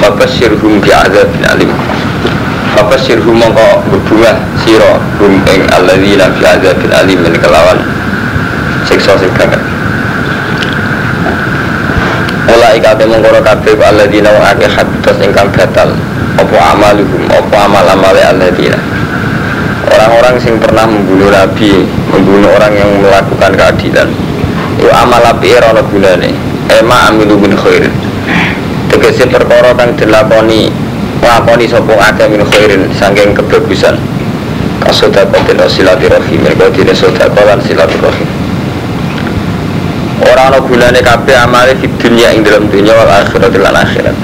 Fabasyirhum bi'adzabin alim. Fabasyirhum mongko berbunga sira hum ing alladzina bi'adzabin alim kelawan siksa sing banget. Mulai kate mongkoro kabeh alladzina wa akeh habitus ingkang batal apa amaluhum apa amal-amale alladzina. Orang-orang sing pernah membunuh nabi, membunuh orang yang melakukan keadilan. Itu amal apike ora ana gunane. Ema amilu min khairin. Tegese perkara kang dilakoni nglakoni sapa akeh min khairin saking kebagusan. Kasodaqatin silaturahim, mergo dene sedekah lan silaturahim. Ora ana gunane kabeh amale di dunya ing dalam dunya wal akhirat lan akhirat.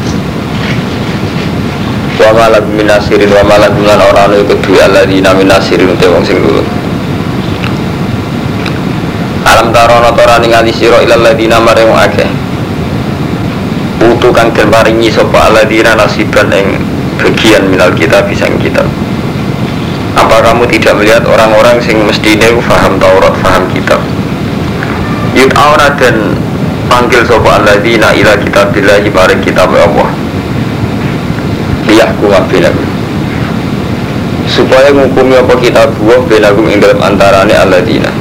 Wa malak minasirin wa malak lan ora ana iku duwe alladzina minasirin te wong sing nulung. Alam tarono tora ningali sira ilal ladina marang akeh. Utu kang den paringi sapa alladzina nasiban ing bagian minal kitab pisang kitab. Apa kamu tidak melihat orang-orang sing mestine paham Taurat, paham kitab? Yud'auna dan panggil sapa alladzina ila kitabillahi maring kitab Allah. Liyahkum bainakum. Supaya ngukumi apa kitab Allah bainakum ing dalem antarane alladzina.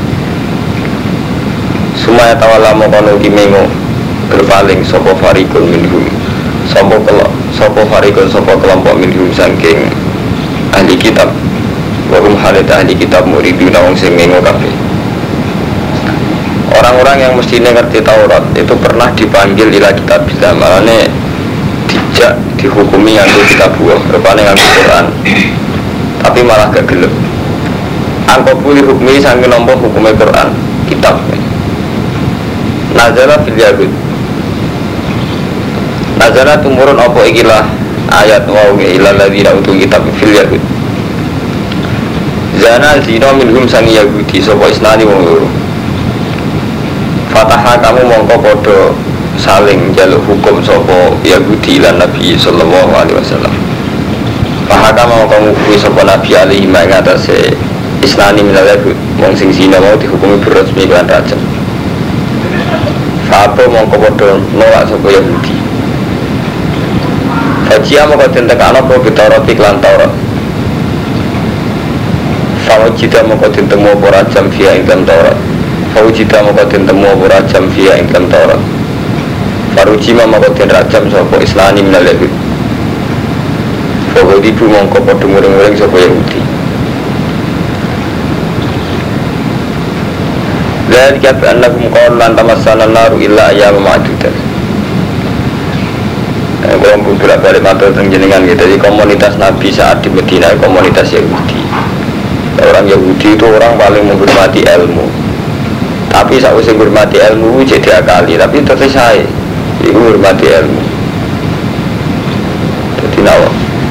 Sumaya tawalla maqanu kimengo berpaling sapa farikun minhum. Sapa farikun sapa kelompok minhum saking ahli kitab. Wa hum halata ahli kitab muriduna wong sing mengo kabeh. Orang-orang yang mestinya ngerti Taurat itu pernah dipanggil ila kitab bila malane dijak dihukumi nganggo kitab buah rupane nganggo Quran tapi malah gak gelem angko pulih hukmi saking nampa hukume Quran kitab nazala fil yahud nazala tumurun apa ikilah ayat wa ila ladzina utul kitab fil yahud zana zina minhum sangi yahudi sapa isnani wong loro Fataha kamu mongko podo saling jaluk hukum sopo Yahudi lan Nabi sallallahu alaihi wasallam. Fataha kamu kamu kui sopo Nabi alaihi mengatasi isnani minal yahud wong sing zina mau dihukumi berresmi lan rajam. Fapa mongko podo nolak sopo Yahudi. Fajia mongko tentekan apa Taurat iklan Taurat. Fawajida mongko tentemu apa rajam via ingkang Taurat. Fawujida maqadin temu apa rajam via ingkang Taurat. Farujima maqadin rajam sapa islani minal yahud. Fawudi bu mongko padha muring-muring sapa Yahudi. Dzalika bi annakum qalu lan tamassana an-nar illa ayyaman ma'dudat. Kalau beberapa balik matur jenengan gitu, jadi komunitas Nabi saat di Medina komunitas Yahudi. Orang Yahudi itu orang paling menghormati ilmu. Tapi saya usah hormati ilmu jadi akali, tapi tetap saya itu hormati ilmu. Jadi nawa.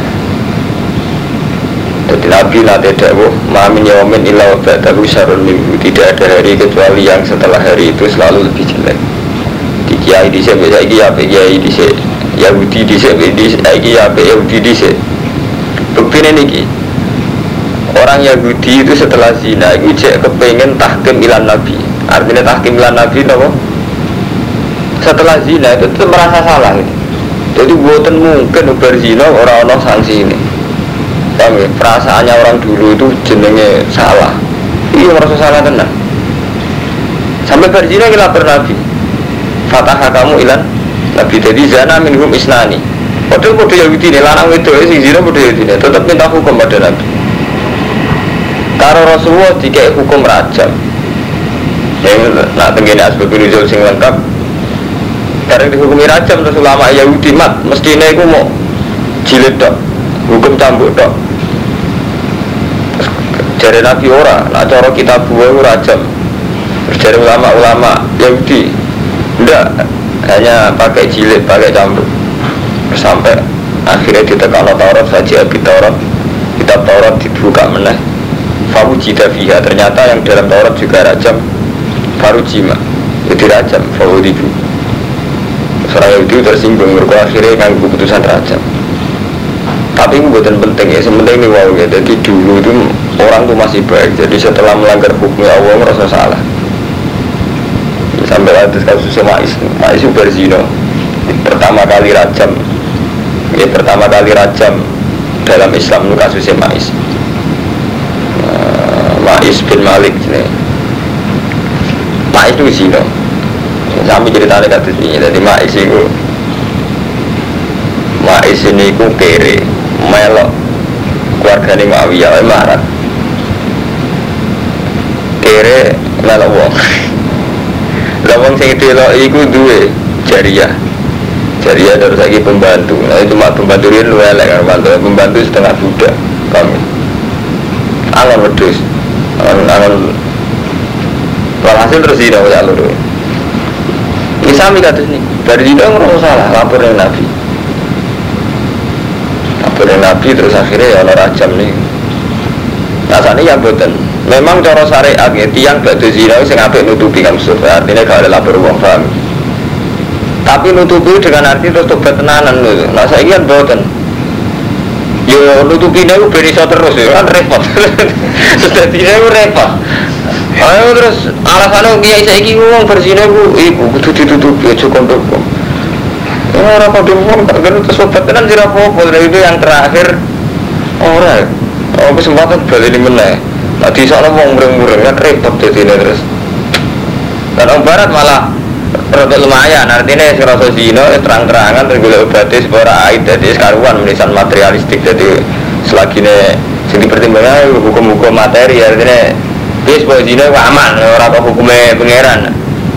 Jadi Nabi nanti dawuh, "Mamin yaumin illa wa ba'dahu syarrun minhu." Tidak ada hari kecuali yang setelah hari itu selalu lebih jelek. Di kiai dhisik saiki ya kiai dhisik, Yahudi dhisik saiki ya Yahudi dhisik. Buktine niki. Orang Yahudi itu setelah zina itu cek kepengen tahkim ilan Nabi. Artinya tahkim ilan Nabi apa? Setelah zina itu tetap merasa salah gitu. Jadi buatan mungkin berzina orang-orang sanksi ini. Paham ya? Perasaannya orang dulu itu jenenge salah. Iya merasa salah tenang. Sampai berzina kita lapor Nabi. Fataha kamu ilan Nabi. Jadi zana minhum isnani. Padahal pada Yahudi ini lanang itu sing zina pada Yahudi ini tetap minta hukum pada Nabi. Karo Rasulullah dikai hukum rajam. Yang nak tenggine asbab nuzul sing lengkap. Karena dihukumi rajam terus ulama Yahudi mat mestine iku mau jilid tok, hukum cambuk tok. Jare Nabi ora, nak cara kitab buah rajam. Terus jare ulama-ulama Yahudi ndak hanya pakai jilid, pakai cambuk. Sampai akhirnya ditekano Taurat saja Taurat. Kitab Taurat dibuka meneh. Fawujida fiha, ternyata yang dalam Taurat juga rajam. Farujima itu rajam. Fawudibu Surah Yahudi tersinggung mereka akhirnya dengan keputusan rajam. Tapi itu bukan penting ya, sementing ini wow ya. Jadi dulu itu orang itu masih baik. Jadi setelah melanggar hukumnya Allah merasa salah. Sampai atas kasusnya Ma'is itu berzina pertama kali rajam Ini pertama kali rajam dalam Islam itu kasusnya Ma'is. Ma'is bin Malik ini. Ma'is itu zina. Kami ceritanya kasus ini. Jadi Ma'is itu kere, melok keluarganya Muawiyah marah. Kere melok wong. Lah wong sing delok iku duwe jariyah. Jariyah terus lagi pembantu. Nah itu cuma pembantu ini lu elek kan pembantu setengah budak kami. Angan wedhus. Angan walhasil terus tidak usah lho. Ini sami kados nih. Dari tidak ngerasa salah lapor dengan Nabi. Lapor dengan Nabi terus akhirnya ya ana rajam nih. Rasanya ya boten. Memang cara syariat ya tiyang badhe zina sing apik nutupi kan surga. Artinya gak ada lapor wong paham. Tapi nutupi dengan arti terus tobat tenanan lho. Nah saiki kan boten. Yo nutupi niku ben iso terus ya kan repot. Sedadine repot. Ayo terus alasannya kiai saiki wong berzina iku kudu ditutupi aja kondok. Ora padha wong tak kena terus obat tenan sira apa itu yang terakhir. Ora. Oh kesempatan bali meneh. Nah di sana wong mureng-mureng kan repot dadine terus. Dan orang barat malah rada lumayan artinya serasa zina terang-terangan terus golek obate sepora aid dadi sekaruan menisan materialistik jadi selagi ne sing dipertimbangkan hukum-hukum materi artinya wis pokoke zina aman ora apa hukume pangeran.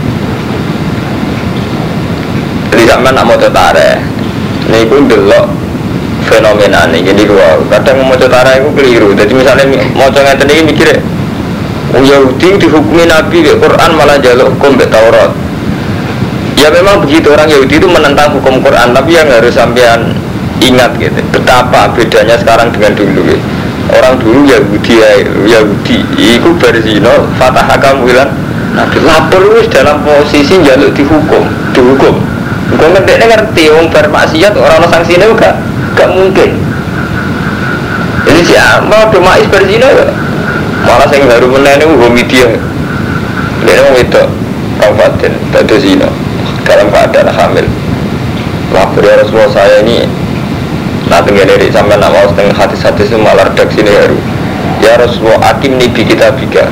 Jadi sampean nak maca tareh niku ndelok fenomena ini jadi dua kadang maca tareh iku keliru. Jadi misalnya maca ngeten iki mikire Yahudi dihukumi Nabi di Quran malah jaluk hukum di Taurat. Ya memang begitu, orang Yahudi itu menentang hukum Quran, tapi yang harus sampean ingat gitu betapa bedanya sekarang dengan dulu gitu. Orang dulu Yahudi itu berzina fatah kamu bilang Nabi lapor wis dalam posisi jaluk dihukum gue ngerti orang bermaksiat orang sanksinya gak mungkin. Jadi siapa do Ma'is berzina malah yang baru menenang homidia dia mau itu kabupaten tadi zina dalam keadaan hamil. Lapor ya Rasulullah saya ini nanti gak dari sampai nak mau setengah hati-hati itu malah redaksi ini baru ya Rasulullah hakim nih kita biga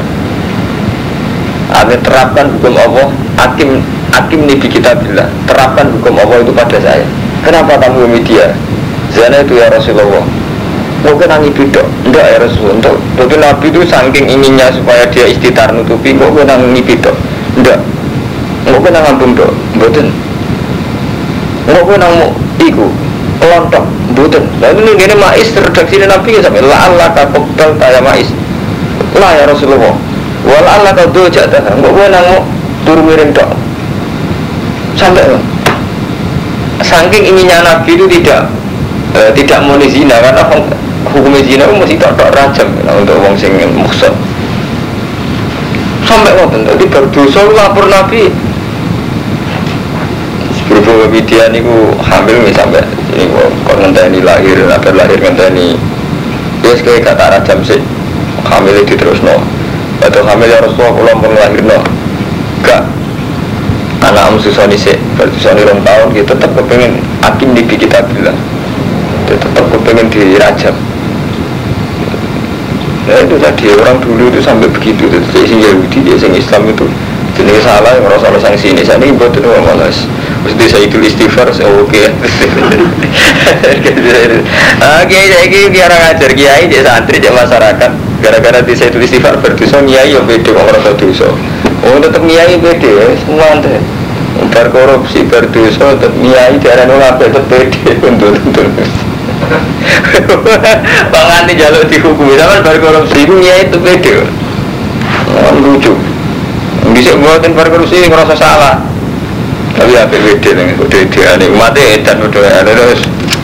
Anda terapkan hukum Allah hakim nih kita bilang terapkan hukum Allah itu pada saya. Kenapa kamu media zina itu ya Rasulullah mungkin nangi bidok enggak ya Rasulullah tapi Nabi itu saking inginnya supaya dia istitar nutupi mungkin nangi bidok enggak mungkin nangi bundok betul mungkin nangi iku kelontok betul lalu ini Ma'is redaksi Nabi sampai la'allah kakobdal taya Ma'is lah ya Rasulullah wala'allah kau dojak dah mungkin nangi turu miring dok sampai saking inginnya Nabi itu tidak mau zina karena hukum zina itu mesti tak rajam untuk orang sing muksud sampai waktu itu berdosa lapor Nabi sebelum media ini hamil sampai ini kok ngenteni lahir agar lahir ngenteni dia sekali kata rajam sih hamil itu terus no atau hamil ya Rasulullah pulang lahir no gak anak susoni sih bersusoni 2 tahun kita tetap kepengen hakim di kita bilang tetap kepengen dirajam. Nah itu tadi orang dulu itu sampai begitu. Jadi Yahudi dia yang Islam itu jenis salah yang merasa sanksi ini. Saya ini buat itu malas. Mesti saya itu istighfar saya oke. Oke jadi biar ngajar kiai jadi santri jadi masyarakat. Gara-gara di saya itu istighfar berdosa kiai yang beda kok merasa dosa. Oh tetap kiai beda semua ante. Berkorupsi berdosa tetap kiai darah nolak tetap beda untuk Panganti jaluk dihukumi sama berkorupsi ya itu beda. Lucu. Bisa buatin berkorupsi ngerasa salah. Tapi apa beda nih? Udah dia nih umatnya edan udah ada terus.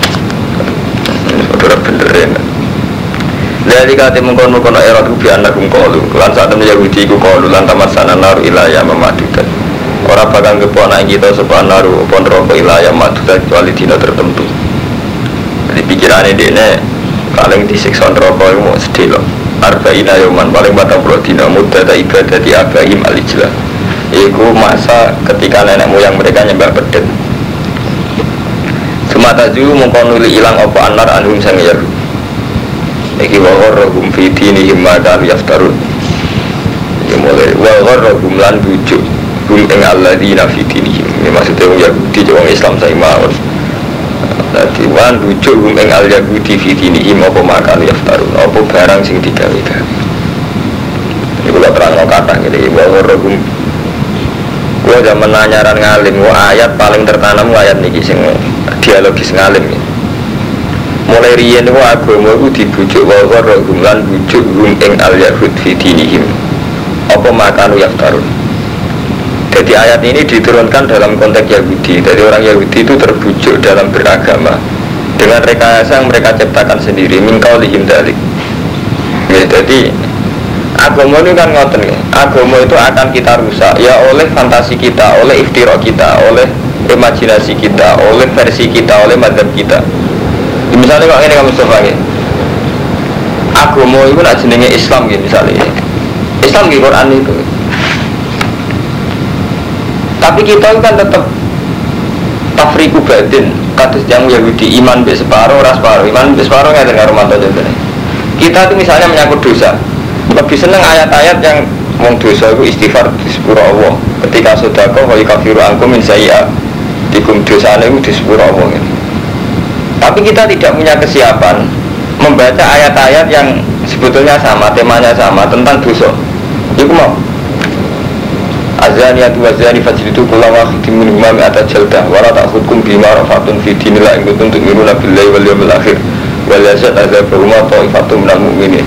Udah benerin. Dari kata mengkono era tubi anak kalu. Lan saat temen Yahudi ku kalu lan tamasana naru ilayah memadukan. Orang bakal keponakan kita sepan naru pon rokok ilayah memadukan kecuali dina tertentu. Di pikirannya dia paling disiksa neraka itu mau sedih loh. Arba'ina yoman paling 40 dina muda ibadah di Abrahim al-Ijlah. Itu masa ketika nenek moyang mereka nyembah bedeng. mata ju mengkonuli ilang apa anar anhum sang Yahud. Iki wa gharrahum fi dinihim ma kanu yaftarun. Ya mulai wa gharrahum lan bujuk hum ing alladzina fi dinihim. Ini maksudnya wong Yahudi wong Islam sae mawon. Dadi wan bujuk hum ing al Yahudi fi dinihim apa ma kanu yaftarun. Apa barang sing digawe-gawe. Ini kula terangno kathah ngene wa gharrahum. Gua zaman nanyaran ngalim, gua ayat paling tertanam ayat niki sing dialogis ngalim ya. Mulai riyen wa agama iku dibujuk wa gharrahum lan bujuk hum ing al Yahud fi dinihim. Apa makanu yaftarun. Jadi ayat ini diturunkan dalam konteks Yahudi. Jadi orang Yahudi itu terbujuk dalam beragama dengan rekayasa yang mereka ciptakan sendiri. Min qaulihim dzalik. Ya, jadi agama ini kan ngoten ya. Agama itu akan kita rusak ya oleh fantasi kita, oleh iftira kita, oleh imajinasi kita, oleh versi kita, oleh madzhab kita. Misalnya kalau ini kamu coba ya. Agama itu nak jenenge Islam gitu misalnya. Islam di Quran itu. Tapi kita kan tetap tafriku batin, kados yang Yahudi iman be separuh, ras separuh, iman be separuh nggak dengar romanto contohnya. Kita itu misalnya menyangkut dosa, lebih seneng ayat-ayat yang wong dosa itu istighfar di sepuro Allah. Ketika sedekah wa yakafiru ankum min sayyi'at, dikum dosane itu di sepuro Allah gitu. Tapi kita tidak punya kesiapan membaca ayat-ayat yang sebetulnya sama, temanya sama tentang dosa. Iku mau azaniyatu wazani fajridu kulla wahidin minhuma mi'ata jaldah wa la ta'khudhukum bima rafatun fi dinillah in kuntum tu'minuna billahi wal yawmil akhir wa la yashhaduna ta'ifatun minal mu'minin.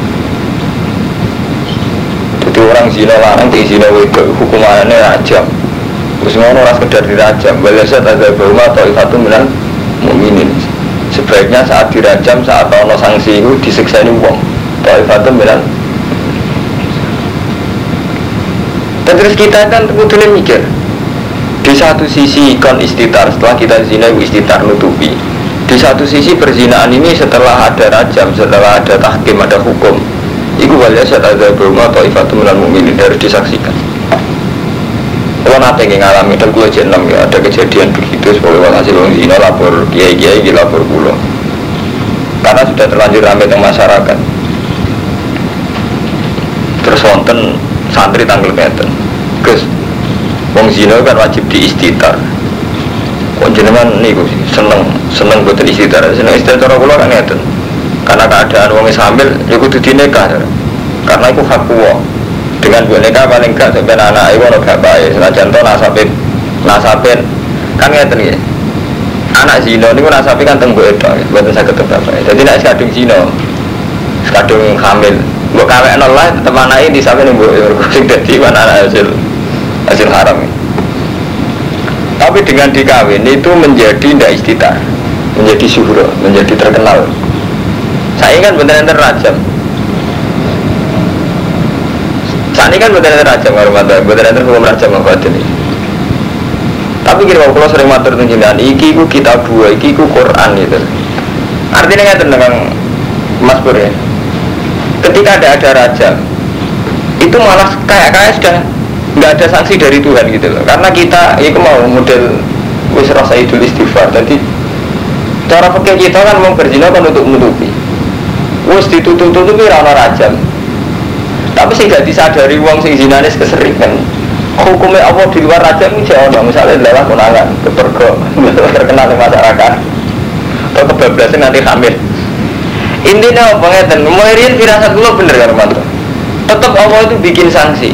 Jadi orang zina larang di zina wedok hukumannya rajam. Terus ngono ora sekedar dirajam, wa la yashhaduna ta'ifatun minal mu'minin. Sebaiknya saat dirajam, saat ono sanksi itu disiksani wong. Ta'ifatun minal. Dan terus kita kan kemudian mikir di satu sisi kon istitar setelah kita zina istitar nutupi, di satu sisi perzinaan ini setelah ada rajam, setelah ada tahkim, ada hukum itu waliya saat ada berumah ta'ifatu minal mu'minin harus disaksikan. Kalau nanti ngalami dan kulo jenam ya ada kejadian begitu sebagai hasil orang zina lapor kiai-kiai lapor kulo karena sudah terlanjur ramai teng masyarakat. Terus wonten santri tanggal ngeten, Gus, wong zina kan wajib diistitar. Kok jenengan niku seneng boten istitar. Seneng istitar cara kula kan ngeten. Karena keadaan wong hamil ya kudu dinikah. Karena iku hak kuwa. Dengan buat nikah paling gak sampai anak iku ono bapake. Senajan to nasabin kan ngeten nggih. Anak zina niku nasabe kan teng mbok edok, mboten saged bapake. Dadi nek kadung zina, kadung hamil mbok kawekno lah tetep anake disape ning mbok sing dadi anak hasil haram. Tapi dengan dikawin itu menjadi tidak istitar, menjadi syuhra, menjadi terkenal. Saya kan benar-benar rajam. Saat ini kan benar-benar rajam, benar-benar hukum rajam mengkotin ini. Tapi kira kalau sering matur tunjukan, iki ku kitab dua, iki ku Quran gitu. Artinya nggak tentang Mas Pur ya. Ketika ada rajam, itu malah kayak sudah nggak ada sanksi dari Tuhan gitu loh. Karena kita, itu mau model wis rasa idul istighfar. Jadi cara fikih kita kan mau berzina kan untuk menutupi. Wis ditutup-tutupi rana rajam. Tapi sing gak disadari wong sing zinanis keseringan. Hukumnya Allah di luar rajam ini jauh. Misalnya adalah konangan, kepergok, terkenal di masyarakat. Atau kebablasan nanti hamil. Intinya apa ngeten, muirin firasat dulu bener kan Romanto. Tetap Allah itu bikin sanksi.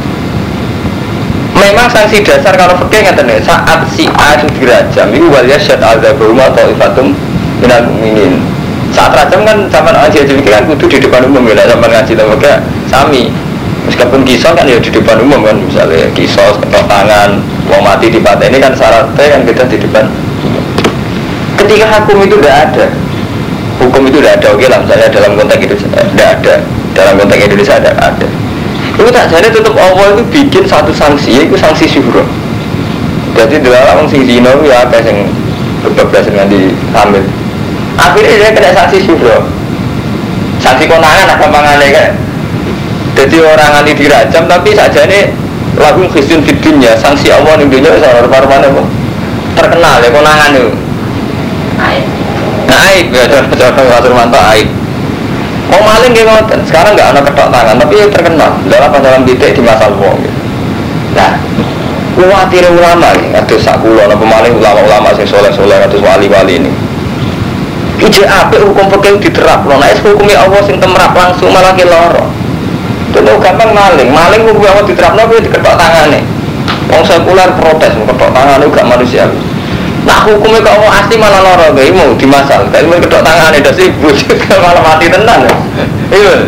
Memang sanksi dasar kalau fikih ngeten ya, saat si A itu dirajam, itu waliya syad al-zabuma atau ifatum minal mu'minin. Saat rajam kan zaman ngaji kan kudu di depan umum ya, zaman ngaji lembaga sami. Meskipun kisah kan ya di depan umum kan, misalnya kisah, ketok tangan, wong mati di pantai ini kan syaratnya kan kita di depan. Ketika hukum itu tidak ada, hukum itu tidak ada, oke lah misalnya dalam konteks itu tidak ada, dalam konteks Indonesia tidak ada. Itu tak jadi tetap Allah itu bikin satu sanksi, itu sanksi syuhra. Jadi dalam orang sing zina ya apa yang berbebas dengan di hamil. Akhirnya dia kena sanksi syuhra, sanksi konangan apa mangannya kan. Jadi orang anti dirajam tapi saja ini lagu Kristen fitunya sanksi Allah di dunia seorang mana terkenal ya konangan itu. Aib ya, contoh Mas Romanto aib. Mau maling dia ngoten, sekarang nggak ada ketok tangan, tapi terkenal dalam titik di masa wong. Nah, khawatir ulama nih, ada sakulo, ada pemaling ulama-ulama sing soleh-soleh, ada wali-wali ini. Ije apa hukum fikih diterap, loh, nah hukumnya Allah sing temrap langsung malah keloro. Itu gampang maling hukum Allah diterap, nopo diketok tangan nih. Wong sekuler protes, ketok tangan itu gak manusia. Nah hukumnya kalau asli malah loro, gak mau dimasal. Tapi mau kedok tangan itu sih, bujuk malah mati tenang. Iya.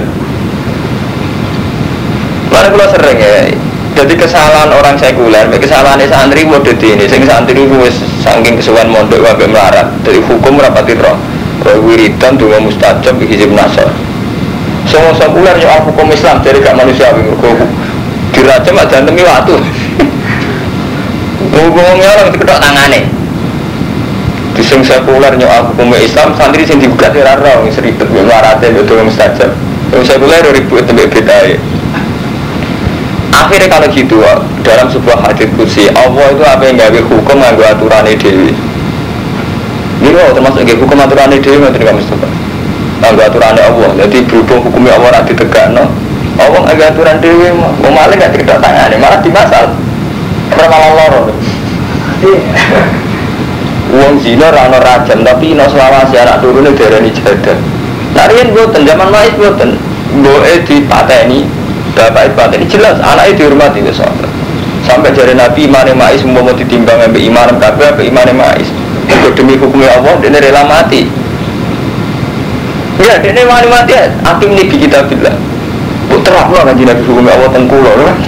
Mana kalau sering ya. Jadi kesalahan orang sekuler, kesalahan santri mau jadi ini. Sing santri itu saking kesuwan mondok wae melarat. Dari hukum rapati roh. Wiridan dungo mustajab hizib nasar. Semua sekuler nyoal hukum Islam jadi gak manusia. Dirajam aja demi waktu. Ngomongnya orang itu kedok tangannya. Dising sekuler nyoal hukum Islam, santri sing dibuka tirara, yang seribet, yang larate, yang doang mustajab. Yang sekuler ribut sampai beda. Akhirnya kalau gitu, dalam sebuah hadits qudsi, Allah itu apa yang gawe hukum nganggo aturane dhewe. Ini termasuk hukum aturane dhewe ngoten Pak Mustofa. Nganggo aturane Allah. Jadi berhubung hukumnya Allah ora ditegakno, Allah nganggo aturan dhewe, mau maling gak dikedok tangane, malah dimasal. Ora malah loro. Wong zina ra ono rajam tapi nek selawase anak turune diarani jadah. Nah riyen mboten zaman Ma'is mboten. Mboke dipateni, bapak dipateni jelas anake dihormati wis sampai jare Nabi imane Ma'is umpama ditimbang ambek iman kabeh ambek imane Ma'is. Mergo demi hukumnya Allah dene rela mati. Ya dene wani mati api ini di kitabillah. Putra-putra kan Nabi hukumnya Allah tengkulo lho.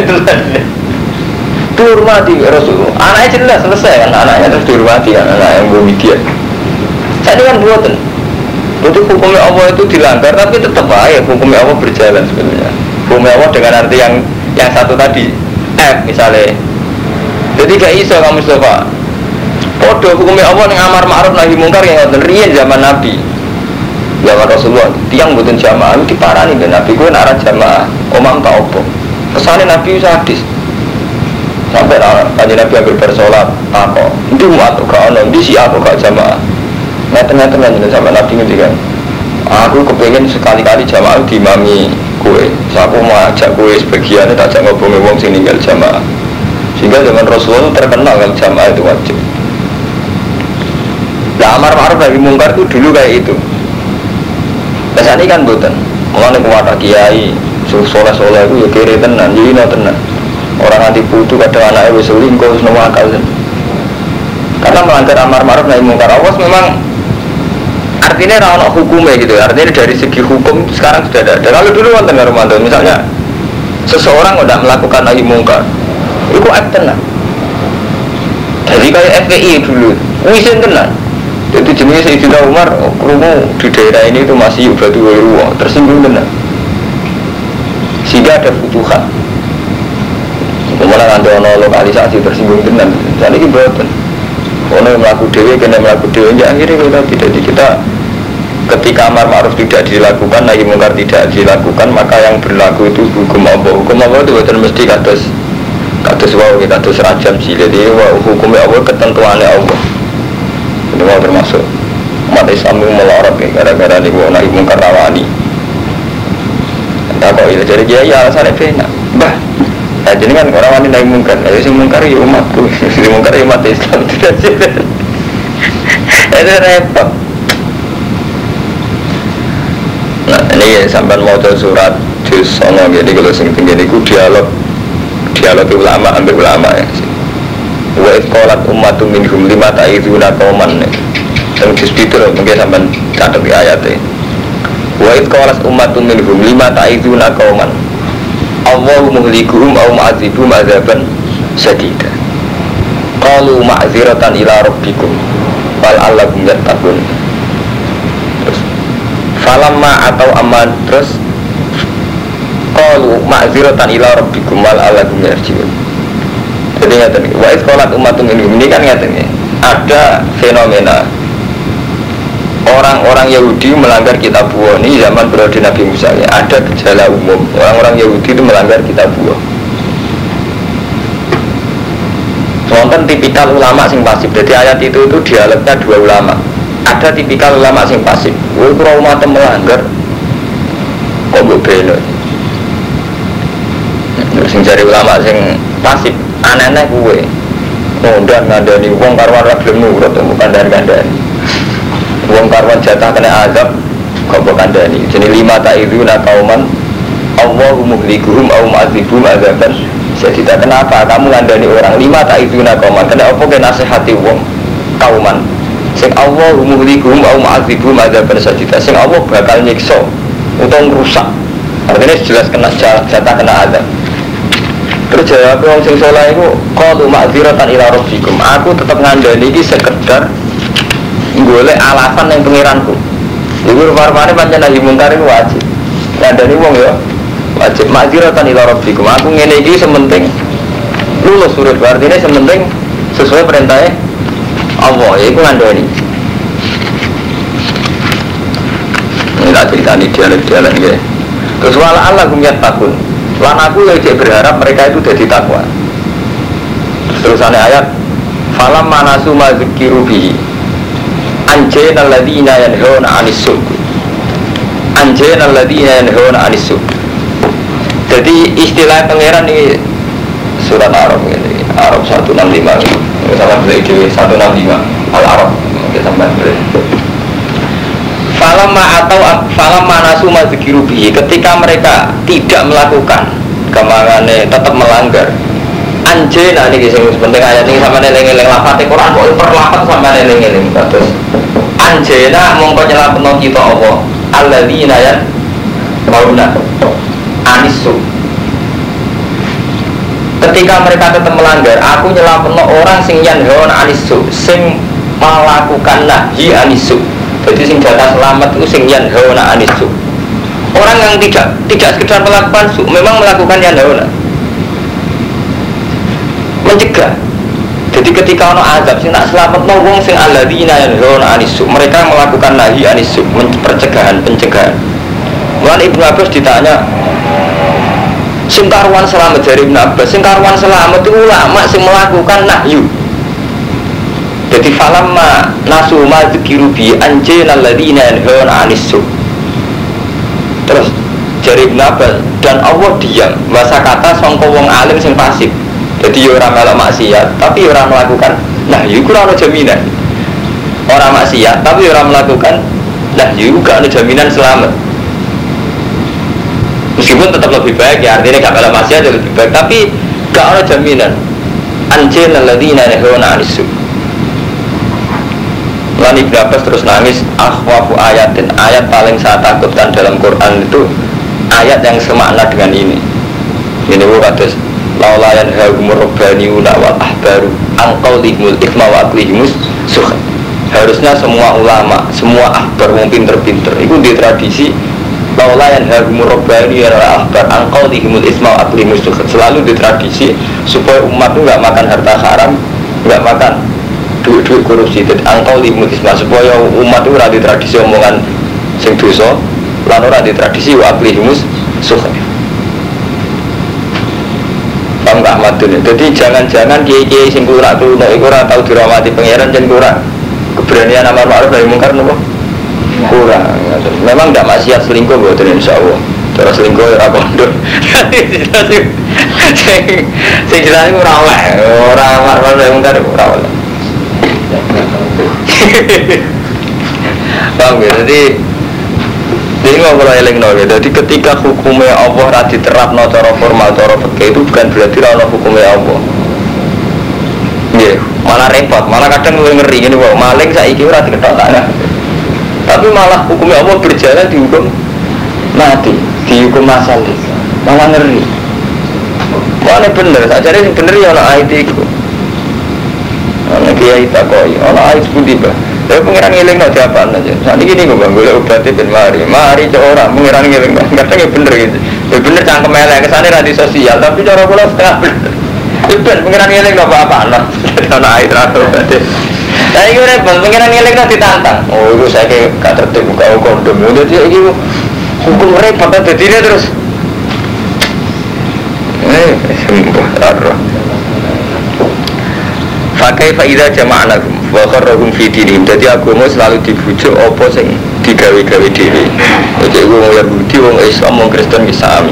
Dihormati Rasul, anaknya jelas selesai kan, anaknya terus dihormati kan, anak yang belum dia. Saya kan buatan, berarti hukumnya Allah itu dilanggar, tapi tetap aja hukumnya Allah berjalan sebenarnya. Hukumnya Allah dengan arti yang satu tadi, misalnya. Jadi gak iso kamu Mustafa. Podo hukumnya Allah yang amar ma'ruf nahi mungkar yang ngoten riyen zaman Nabi. Zaman Rasulullah, tiang buatan jamaah itu diparani ben Nabi gue narah jamaah, omam tak opo. Kesane Nabi sadis. Sampai kajian Nabi ambil bersolat apa itu umat gak ono di siapa gak jamaah ngeten-ngeten aja sampai Nabi ngendikan aku kepengen sekali-kali jamaah diimami kue aku mau ajak kue sebagian tak ajak ngobongi wong sing ninggal jamaah sehingga zaman Rasulullah terkenal kalau jamaah itu wajib. Nah amar ma'ruf nahi mungkar itu dulu kayak itu biasanya kan boten mulane kuwata kiai soleh-soleh itu ya kiri tenan jadi tenan. Orang nanti putu kadang anaknya wis selingkuh wis akal kan. Karena melanggar amar ma'ruf nahi mungkar awas memang artinya ra ono hukumnya gitu. Artinya dari segi hukum sekarang sudah ada. Kalau dulu wonten Romanto misalnya seseorang udah melakukan nahi mungkar itu tenan. Jadi kayak FPI dulu wisin tenan. Jadi jenis Sayyidina Umar krungu di daerah ini itu masih batu ruwa tersinggung tenan. Sehingga ada futuhat. Kemudian ada lokalisasi tersinggung tenan. Jadi ini betul. Ono melakukan dewi, kena melakukan dewi. Ya akhirnya kita ketika amar ma'ruf tidak dilakukan, nahi mungkar tidak dilakukan, maka yang berlaku itu hukum Allah. Hukum Allah itu betul mesti kados rajam sih. Jadi hukumnya Allah ketentuannya Allah. Itu mau termasuk umat Islam yang melorot gara-gara ini nahi mungkar rawani. Tak kok itu jadi dia alasannya benar. Bah. Nah, jadi kan orang wanita yang mungkar, si mungkar ya umatku, si mungkar ya umat Islam tidak sih. Itu repot. Nah ini ya sampai mau surat juz songo jadi kalau sing tinggi itu dialog ulama ambil ulama ya. Wa iqalat ummatum minhum lima ta'iduna qauman. Yang juz itu loh mungkin sampai catat di ayatnya. Wa iqalat ummatum minhum lima ta'iduna qauman. Allahu muhlikuhum aw mu'adzibum adzaban sadida. Qalu ma'dziratan ila rabbikum wal allakum yattaqun. Terus falamma atau aman terus qalu ma'dziratan ila rabbikum wal allakum yarjiun. Jadi ngaten iki wa iqalat ummatum ini kan ngaten iki. Ada fenomena orang-orang Yahudi melanggar kitab Allah ini zaman periode Nabi Musa ya. Ada gejala umum orang-orang Yahudi itu melanggar kitab Allah. Wonten tipikal ulama sing pasif. Jadi ayat itu dialognya dua ulama. ada tipikal ulama sing pasif. Kowe ora umat melanggar kok mbok beno. Sing jare ulama sing pasif aneh-aneh kowe. Ngondan ngandani wong karwan ra gelem nurut bukan kandhani. Wong karwan jatah kena azab kok mbok kandhani. Jenenge lima ta'iduna qauman Allahu muhlikuhum au mu'adzibum azaban. Jadi kenapa kamu ngandani orang lima ta'iduna qauman? Kenapa ke nasihati wong kauman sing Allah muhlikuhum au mu'adzibum azaban sajida. Sing Allah bakal nyiksa utawa rusak. Artinya jelas kena jatah kena azab. Terus jawab wong sing saleh iku qalu ma'dziratan ila rabbikum. Aku tetep ngandani iki sekedar golek alasan yang pengiranku. Iku rupa-rupane pancen nahi mungkar iku wajib. Ngandani wong ya wajib ma'dziratan ila rabbikum. Aku ngene iki sementing lulus urip, artinya sementing sesuai perintahnya Allah, iku ngandani. Ini tak ceritani dialek-dialek nggih. Terus wala Allah gumyat takun. Lan aku yang berharap mereka itu jadi takwa. Terusannya ayat falam manasu ma dzikiru bihi anjayna alladziina yanhauna 'anis su'. Anjayna alladziina yanhauna 'anis su'. Jadi istilah pangeran ini surat Arab ini, Arab 165 sama beli di 165 Al-Arab kita sampai beli. Falam manasu ma dzikiru bihi, ketika mereka tidak melakukan kemangane tetap melanggar anjena ini sing penting ayat ini sama eling-eling lafate Quran kok per lafat sama eling-eling terus anjena mongko nyelapno kita apa alladzina ya bauna anisu. Ketika mereka tetap melanggar, aku nyelapno orang sing yanhaun anisu, sing melakukan nahi anisu. Jadi sing jatah selamat itu sing yanhauna anisu. Orang yang tidak sekedar melakukan su, memang melakukan yanhauna, mencegah. Jadi ketika ono azab sing tak selamatno wong sing alladzina yanhauna anisu, mereka melakukan nahi anisu, pencegahan. Mulane Ibnu Abbas ditanya, sing karuan selamat dari Ibnu Abbas, sing karuan selamat itu ulama sing melakukan nahyu. Jadi falamma nasu ma dzikiru bi anjayna alladziina yanhauna 'anis su'. Terus jari Ibnu Abbas dan Allah diam masa kata sangka wong alim sing fasik. Jadi ora melok maksiat tapi ora melakukan nahyu ora ana jaminan. Ora maksiat tapi ora melakukan nahyu gak ada jaminan selamat. Meskipun tetap lebih baik ya, artinya gak melok maksiat lebih baik tapi gak ada jaminan. Anjayna alladziina yanhauna 'anis su'. Lalu Ibnu Abbas terus nangis, akhwafu ayatin, ayat paling saya takutkan dalam Quran itu ayat yang semakna dengan ini. Ini kados laula yanhahumur rabbaniuna wal ahbaru an qaulihimul ithma wa aqlihimus sukh. Harusnya semua ulama, semua ahbar wong pinter-pinter itu di tradisi laula yanhahumur rabbaniuna wal ahbar an qaulihimul ithma wa aqlihimus sukh. Selalu di tradisi supaya umat itu enggak makan harta haram, enggak makan duit korupsi. Dan angkau limutisma supaya umat itu rada tradisi omongan sing dosa lan ora di tradisi waqlihimus sukh. Paham gak Ahmadun? Jadi jangan-jangan kiai-kiai sing kurak-kurak iku ora tau dirawati pangeran jan kurang keberanian amar ma'ruf nahi mungkar nopo kurang. Memang ndak maksiat selingkuh mboten insyaallah. Terus selingkuh ora pondok. Sing jelas ora oleh, ora amar ma'ruf nahi mungkar ora oleh. Paham ya? Jadi ini ngobrol eling no. Jadi ketika hukumnya Allah ra diterapno cara formal cara fikih itu bukan berarti ra ono hukumnya Allah. Nggih, malah repot, malah kadang ngeri ngene wae. Maling saiki ora diketok tanah. Tapi malah hukumnya Allah berjalan dihukum mati, dihukum masal. Malah ngeri. Mana bener, sajane sing bener ya ono ayat iku. Ana kiai takoi, ana ayat pun tiba. Tapi pengiran ngiling no diapaan aja. Saat ini gue bang, gue obatnya ben mari orang pengiran ngiling. Kadang ya bener gitu. Ya bener cangkem elek kesana radio sosial, tapi cara gue setengah bener. Ben pengiran ngiling no apa-apa no. Ada air atau obatnya. Saya gue repot, pengiran ngiling no ditantang. Oh itu saya kayak gak tertib buka kondom. Jadi ini hukum repot aja dia terus. Sembuh, raro. Pakai faida jama'anakum wa kharrahum fi dinihim. Dadi agama selalu dibujuk apa sing digawe-gawe dhewe. Jadi wong Yahudi, wong Islam, wong Kristen bisa sami.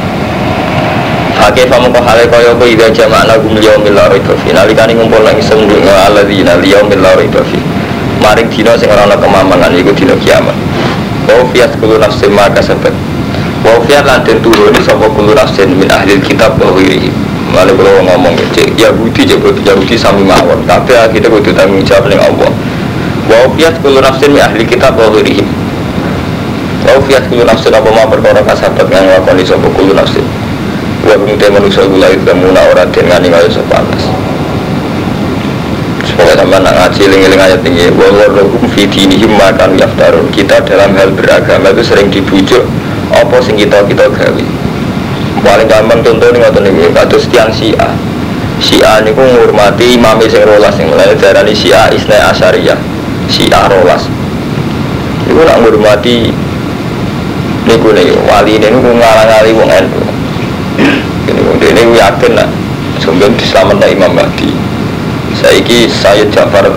Pakai famoko hale kaya apa ida jama'anakum liyaumil la raiba fi. Nalikane ngumpul nang iseng alladzina liyaumil la raiba fi. Maring dina sing ora ana kemamangan iku dina kiamat. Wa fiyat kullu nafsin ma kasabat. Wa fiyat lan den turuni sapa kullu nafsin min ahli kitab wa ghairihi. Malah kalau ngomong cek Yahudi sami mawon. Tapi kita kudu tanggung jawab ning Allah. Wa fiyat kullu nafsin min ahli kitab wa ghairihi. Wa fiyat kullu nafsin apa ma perkara kasabat kang lakoni sapa kullu nafsin. Wa mungkin manusia gula itu muna orang dengan ninggal sepanas. Supaya sampai nak ngaji ling-ling ayat tinggi. Wa warrohum fi dinihim makan yaftarun. Kita dalam hal beragama itu sering dibujuk apa sing kita gawe. Paling gampang contoh nih ngoten iki, kados tiyang Syiah. Syiah niku ngurmati imam sing rolas sing mulai darani Syiah Isnai Asyariyah. Syiah rolas. Iku nak ngurmati niku wali niku ngalang-ali wong NU. Ini yakin lah, sumber diselamatkan Imam Mahdi. Saiki Sayyid Ja'far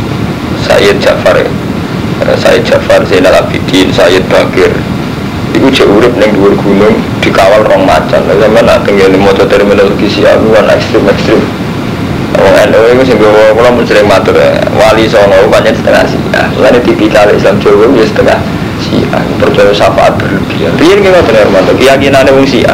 Zainal Abidin, Sayyid Bakir. Iku jauh urip ning dhuwur gunung dikawal rong macan. Lah sampeyan nak tenggene maca terminologi Syiah kan ekstrem. Wong NU iku sing kula mun sering matur wali songo pancen setengah Syiah. Lan tipikal Islam Jawa ya setengah Syiah. Percaya syafaat berlebihan. Riyen ki ngoten Hermanto, keyakinane wong Syiah.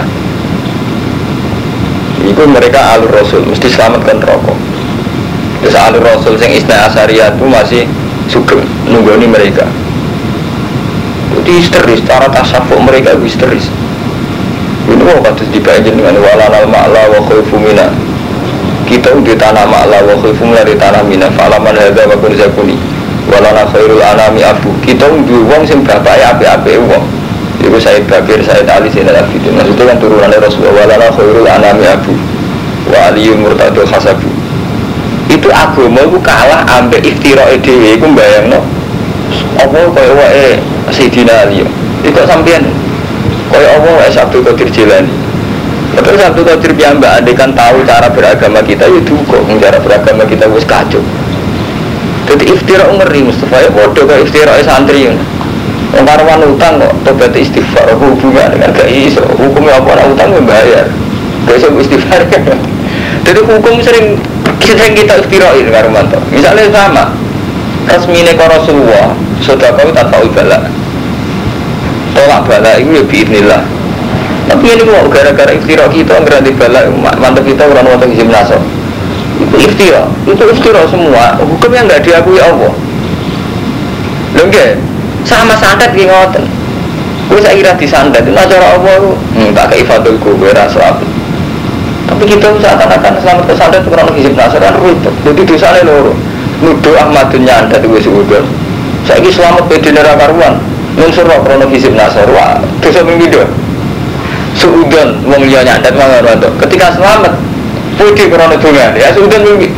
Itu mereka alur Rasul, mesti selamatkan rokok. Terus alur Rasul yang Isnai Asyariyah itu masih sugeng nunggoni mereka. Itu histeris, cara tasawuf mereka itu histeris. Ini mau katus dibayangin dengan walanal ma'la wa khaifu mina. Kita di tanah ma'la wa khaifu mina di tanah mina. Fa'alaman hadha wa kurzakuni walana khairul anami abu. Kita di uang yang berapa api-api uang. Itu Sayyid Bakir, Sayyid Ali, Zainal Abidin. Maksudnya kan turunannya Rasulullah walana khairul anami abu wa aliyun murtadul khasabu. Itu agama itu kalah ambek iftira'i dhewe iku mbayangno apa kaya wae Sayyidina Ali. Iku sampeyan kaya apa wae Abdul Qadir Jilani. Terus Abdul Qadir piyambak andekan tahu cara beragama kita ya duka, cara beragama kita wis kacau. Jadi iftira' ngeri Mustafa ya padha kaya iftira'i santri. Wong karuan utang kok tobat istighfar hubungan dengan gak iso. Hukumnya apa orang utang membayar. Gak iso istighfar. Jadi hukum sering kita iftirain karuan to. Misalnya sama resmine ka Rasulullah, sedekah tanpa bala. Tolak bala itu ya biidznillah. Tapi ini kok gara-gara iftira kita ngerti bala mantep kita orang wonten izin naso. Itu iftira semua. Hukumnya enggak diakui Allah. Lho nggih. Sama santet ki ngoten. Kuwi sak kira disantet itu cara apa ku? Tak kei fadul ku ora salat. Tapi kita seakan-akan selamat ke santet kurang hizib nasaran ribet. Jadi dosane loro. Nuduh Ahmadun nyantet wis udon. Saiki selamat pe dene ra karuan. Nunsur ora krono hizib nasar. Wah, dosa ping pindho. Suudon wong liya nyantet mangono to. Ketika selamat putih krono donga. Ya suudon mimpi.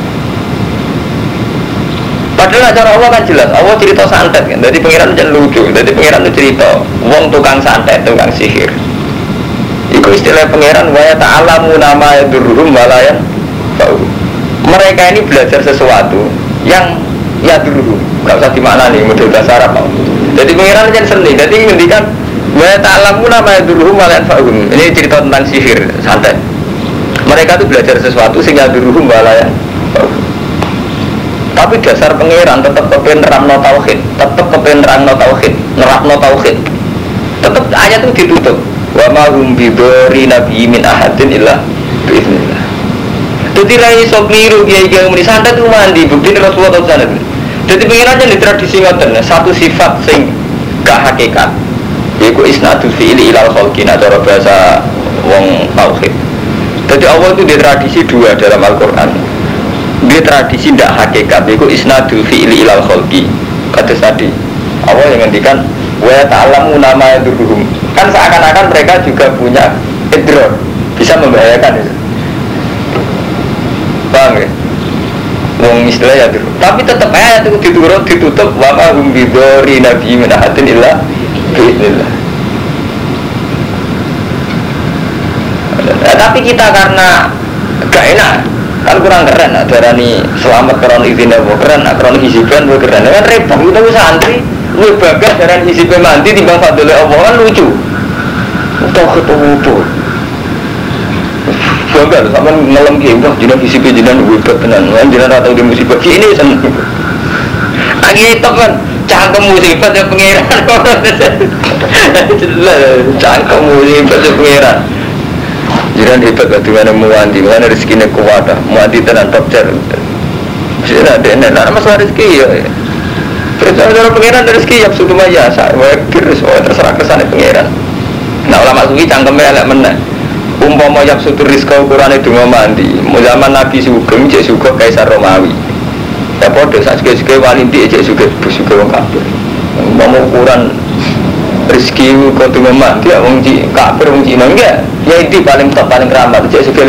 Padahal cara Allah kan jelas, Allah cerita santet kan, jadi pengiran jangan lucu, jadi pengiran itu cerita, wong tukang santet, tukang sihir. Iku istilah pengiran, waya ta'alamu nama yadurruhum walayan. Mereka ini belajar sesuatu yang yadurruhum, gak usah dimaknani, model bahasa Arab. Jadi pengiran jangan seni, jadi ngendikan, waya ta'alamu nama yadurruhum walayan fa'um. Ini cerita tentang sihir, santet. Mereka itu belajar sesuatu sing yadurruhum walayan. Tapi dasar pengeran tetap kepen nerangno tauhid, nerangno tauhid. Tetap ayat itu ditutup. Wa ma hum bidori nabi min ahadin illa biiznillah. Jadi rai sok niru kiai-kiai muni santet itu mandi bukti Rasulullah sallallahu alaihi wasallam. Jadi pengeran di tradisi ngoten, satu sifat sing gak hakikat. Yaiku isnadul fi'li ilal khalqi cara bahasa wong tauhid. Jadi Allah itu di tradisi dua dalam Al-Qur'an. Dia tradisi tidak hakikat, itu isnadul fi'li ilal khalqi. Kata tadi Allah yang ngendikan wa ta'lamu nama yadurruhum. Kan seakan-akan mereka juga punya idrar, bisa membahayakan itu. Paham ya? Wong istilah ya dulu. Tapi tetap ayat itu ditutup wa ma hum bidori nabi min ahadin illa biiznillah. Tapi kita karena gak enak Kan kurang keren, darani selamat karena izin Allah keren, karena hisiban keren. Kan repot kita santri, lu bagas darani hisiban mandi timbang fadlul Allah kan lucu. Tahu ketemu tuh. Bangga sama ngelam ki, wah jinak hisiban jinak hebat tenan. Kan jinak atau di musibah ini seneng. Agi itu kan cangkem musibah ya pengiran. Cangkem musibah ya pengiran. Jiran hebat lah dengan muanti, mana rezekinya kuat dah, muanti tenan top cer. Sudah ada, nak masalah rezeki ya. Perjalanan pengiran rezeki ya sudah maya, saya terus terserah kesana pengiran. Nah ulama sufi cangkemnya elak mana. Umpama yang sudah rezeki ukuran itu mandi, zaman Nabi Sugeng, cek Sugeng Kaisar Romawi. Ya bodoh, saat suka walindi cek Sugeng orang kafir. Umpama ukuran rezeki kau tu memang dia orang kafir orang Cina enggak ya itu paling top paling keramat cek sekalian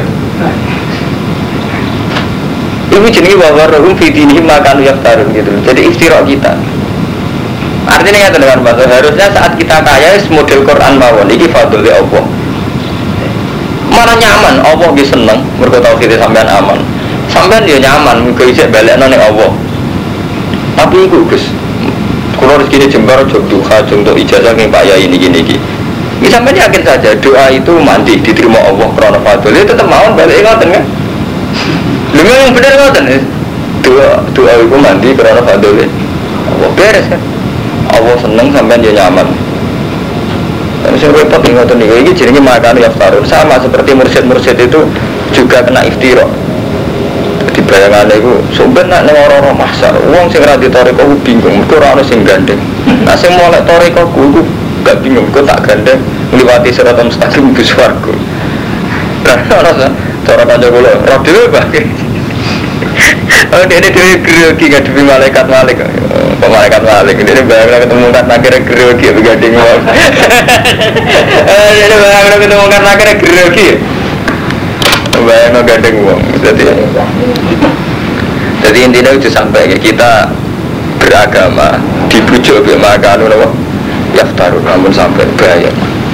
ini jenis bahwa rohum fitini makan yang tarun gitu jadi iftirok kita artinya ya dengan bahasa harusnya saat kita kaya model Quran mawon ini fadl ya Allah mana nyaman Allah dia seneng berkata kita sampean aman sampean dia nyaman mungkin bisa balik nane Allah tapi itu Gus kalau rezeki jembar jog duha untuk ijazah yang Pak Yai ini gini. Sampai yakin saja doa itu mandi diterima Allah karena fadl itu tetap mau balik ngoten kan? Lu yang benar ngoten doa itu mandi karena fadl Allah beres kan? Allah seneng sampai dia nyaman. Dan saya repot ngoten ini jadinya makan yaftarun sama seperti mursyid itu juga kena iftirah. Di bayangan itu sumber nak orang-orang mahsar uang sing ra ditoreko bingung mergo ora ono sing gandeng nah sing molek toreko ku gak bingung kok tak gandeng ngliwati siratal mustaqim ke swarga nah ora cara kanca kula ora dhewe bae oh dene dhewe grogi ngadepi malaikat malik dene bayang ketemu kan akhirnya grogi begandeng wong dene bayang ketemu kan akhirnya grogi bayang gandeng wong jadi intinya itu sampai kita beragama dibujuk oleh makan yaftarun namun sampai bahaya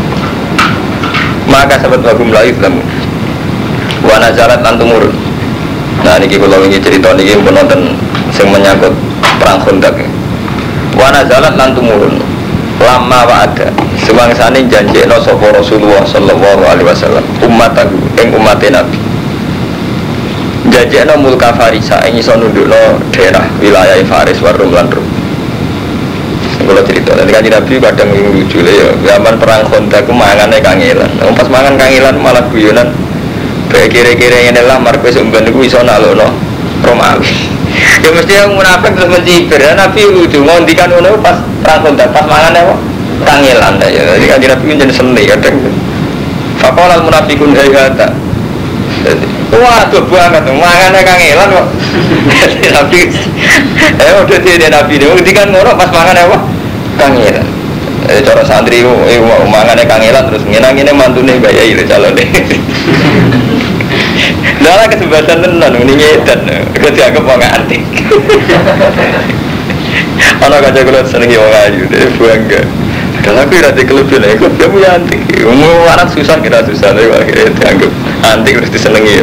maka sahabat bagum la Islam wa nazalat lan tumurun nah niki kula wingi cerita niki pun nonton sing menyangkut perang Khandaq wa nazalat lan tumurun lama wa ada semangsane janjekno sapa Rasulullah sallallahu alaihi wasallam ummatahu ing umate Nabi janjekno mulka Farisa ing iso nundukno daerah wilayah Faris wa Rum lan Rum kalau cerita, nanti kan Nabi kadang lucu lah ya zaman perang Khandaq ku mangane kangelan pas mangan kangelan malah guyonan kayak kira-kira yang adalah markus umban itu iso nalokno Romawi ya mesti yang munafik terus mencibir Nabi lucu, ngondikan ngono pas perang Khandaq pas mangan apa? Kangelan ya, jadi kan Nabi menjadi seni kadang faqala al-munafiqun hayata waduh banget, mangannya kangelan kok Nabi udah dia Nabi dia ngondikan ngono pas mangan apa? Kangelan cara santri mangannya kangelan terus ngenang-ngenang mantune Mbak Yai calon deh dalam kesempatan tenan ini ngedan dianggap wong antik anak kaca kulit senengi wong ayu deh bangga kalau aku rada kelebihan aku dia punya antik mau anak susah kita susah tapi akhirnya dianggap antik terus disenengi ya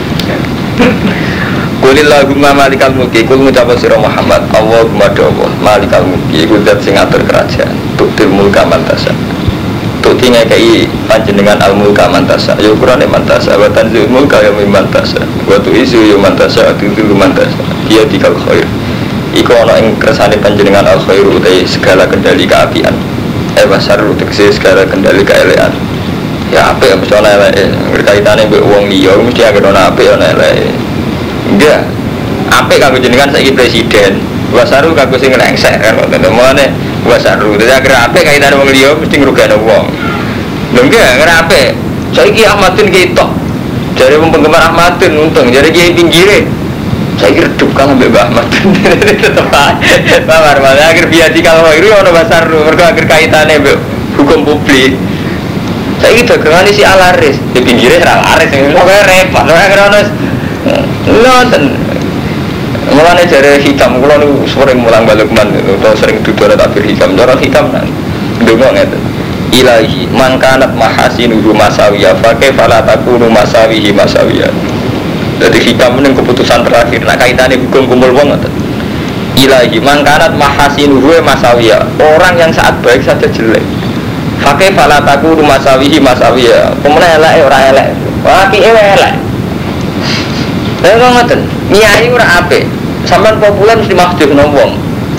Qulillahumma malikal mulki kul ngucapa sira Muhammad Allahumma Allah malikal mulki iku zat sing ngatur kerajaan tuktil mulka mantasa tukti ngekei panjenengan al mulka mantasa ya ukurane mantasa wa tanzil mulka ya mantasa wa tu isu ya mantasa tutul mantasa dia dikal khair iku ana ing kersane panjenengan al khair utai segala kendali keapian basar tegese segala kendali keelekan ya apik mesti ana eleke berkaitane mbek wong liya mesti anggere ana apik ana eleke enggak apik kanggo jenengan saiki presiden wasaru kanggo sing ngengsek kan ngoten wasaru dadi anggere apik kaitane wong liya mesti ngrugekno wong lho enggak anggere apik saiki Ahmadun ketok jare wong penggemar Ahmadun untung jare kiai pinggire saiki redup kan mbek Mbah Ahmadun tetep ae bawar malah akhir biasa kalau itu ono wasaru mergo akhir kaitane mbek hukum publik saiki dagangane si alaris di pinggire ra alaris kok repot ora ono nonton mulanya dari hikam kalau nu sering mulang balik man atau sering duduk takbir hikam cara hikam nan dulu ngerti ilahi man kanat mahasinuhu masawiyah fakih fala takunu masawihi masawiyah Jadi hikam ini keputusan terakhir. Nak kaitannya hukum kumpul wong ngoten. Ilahi mangkanat mahasinuhu masawiyah. Orang yang saat baik saja jelek. Fakih falataku masawihi masawiyah. Pemenang elek ora elek. Apike elek. Lha kok ngoten. Nyai ora apik. Sampeyan populer mesti mahjubno wong.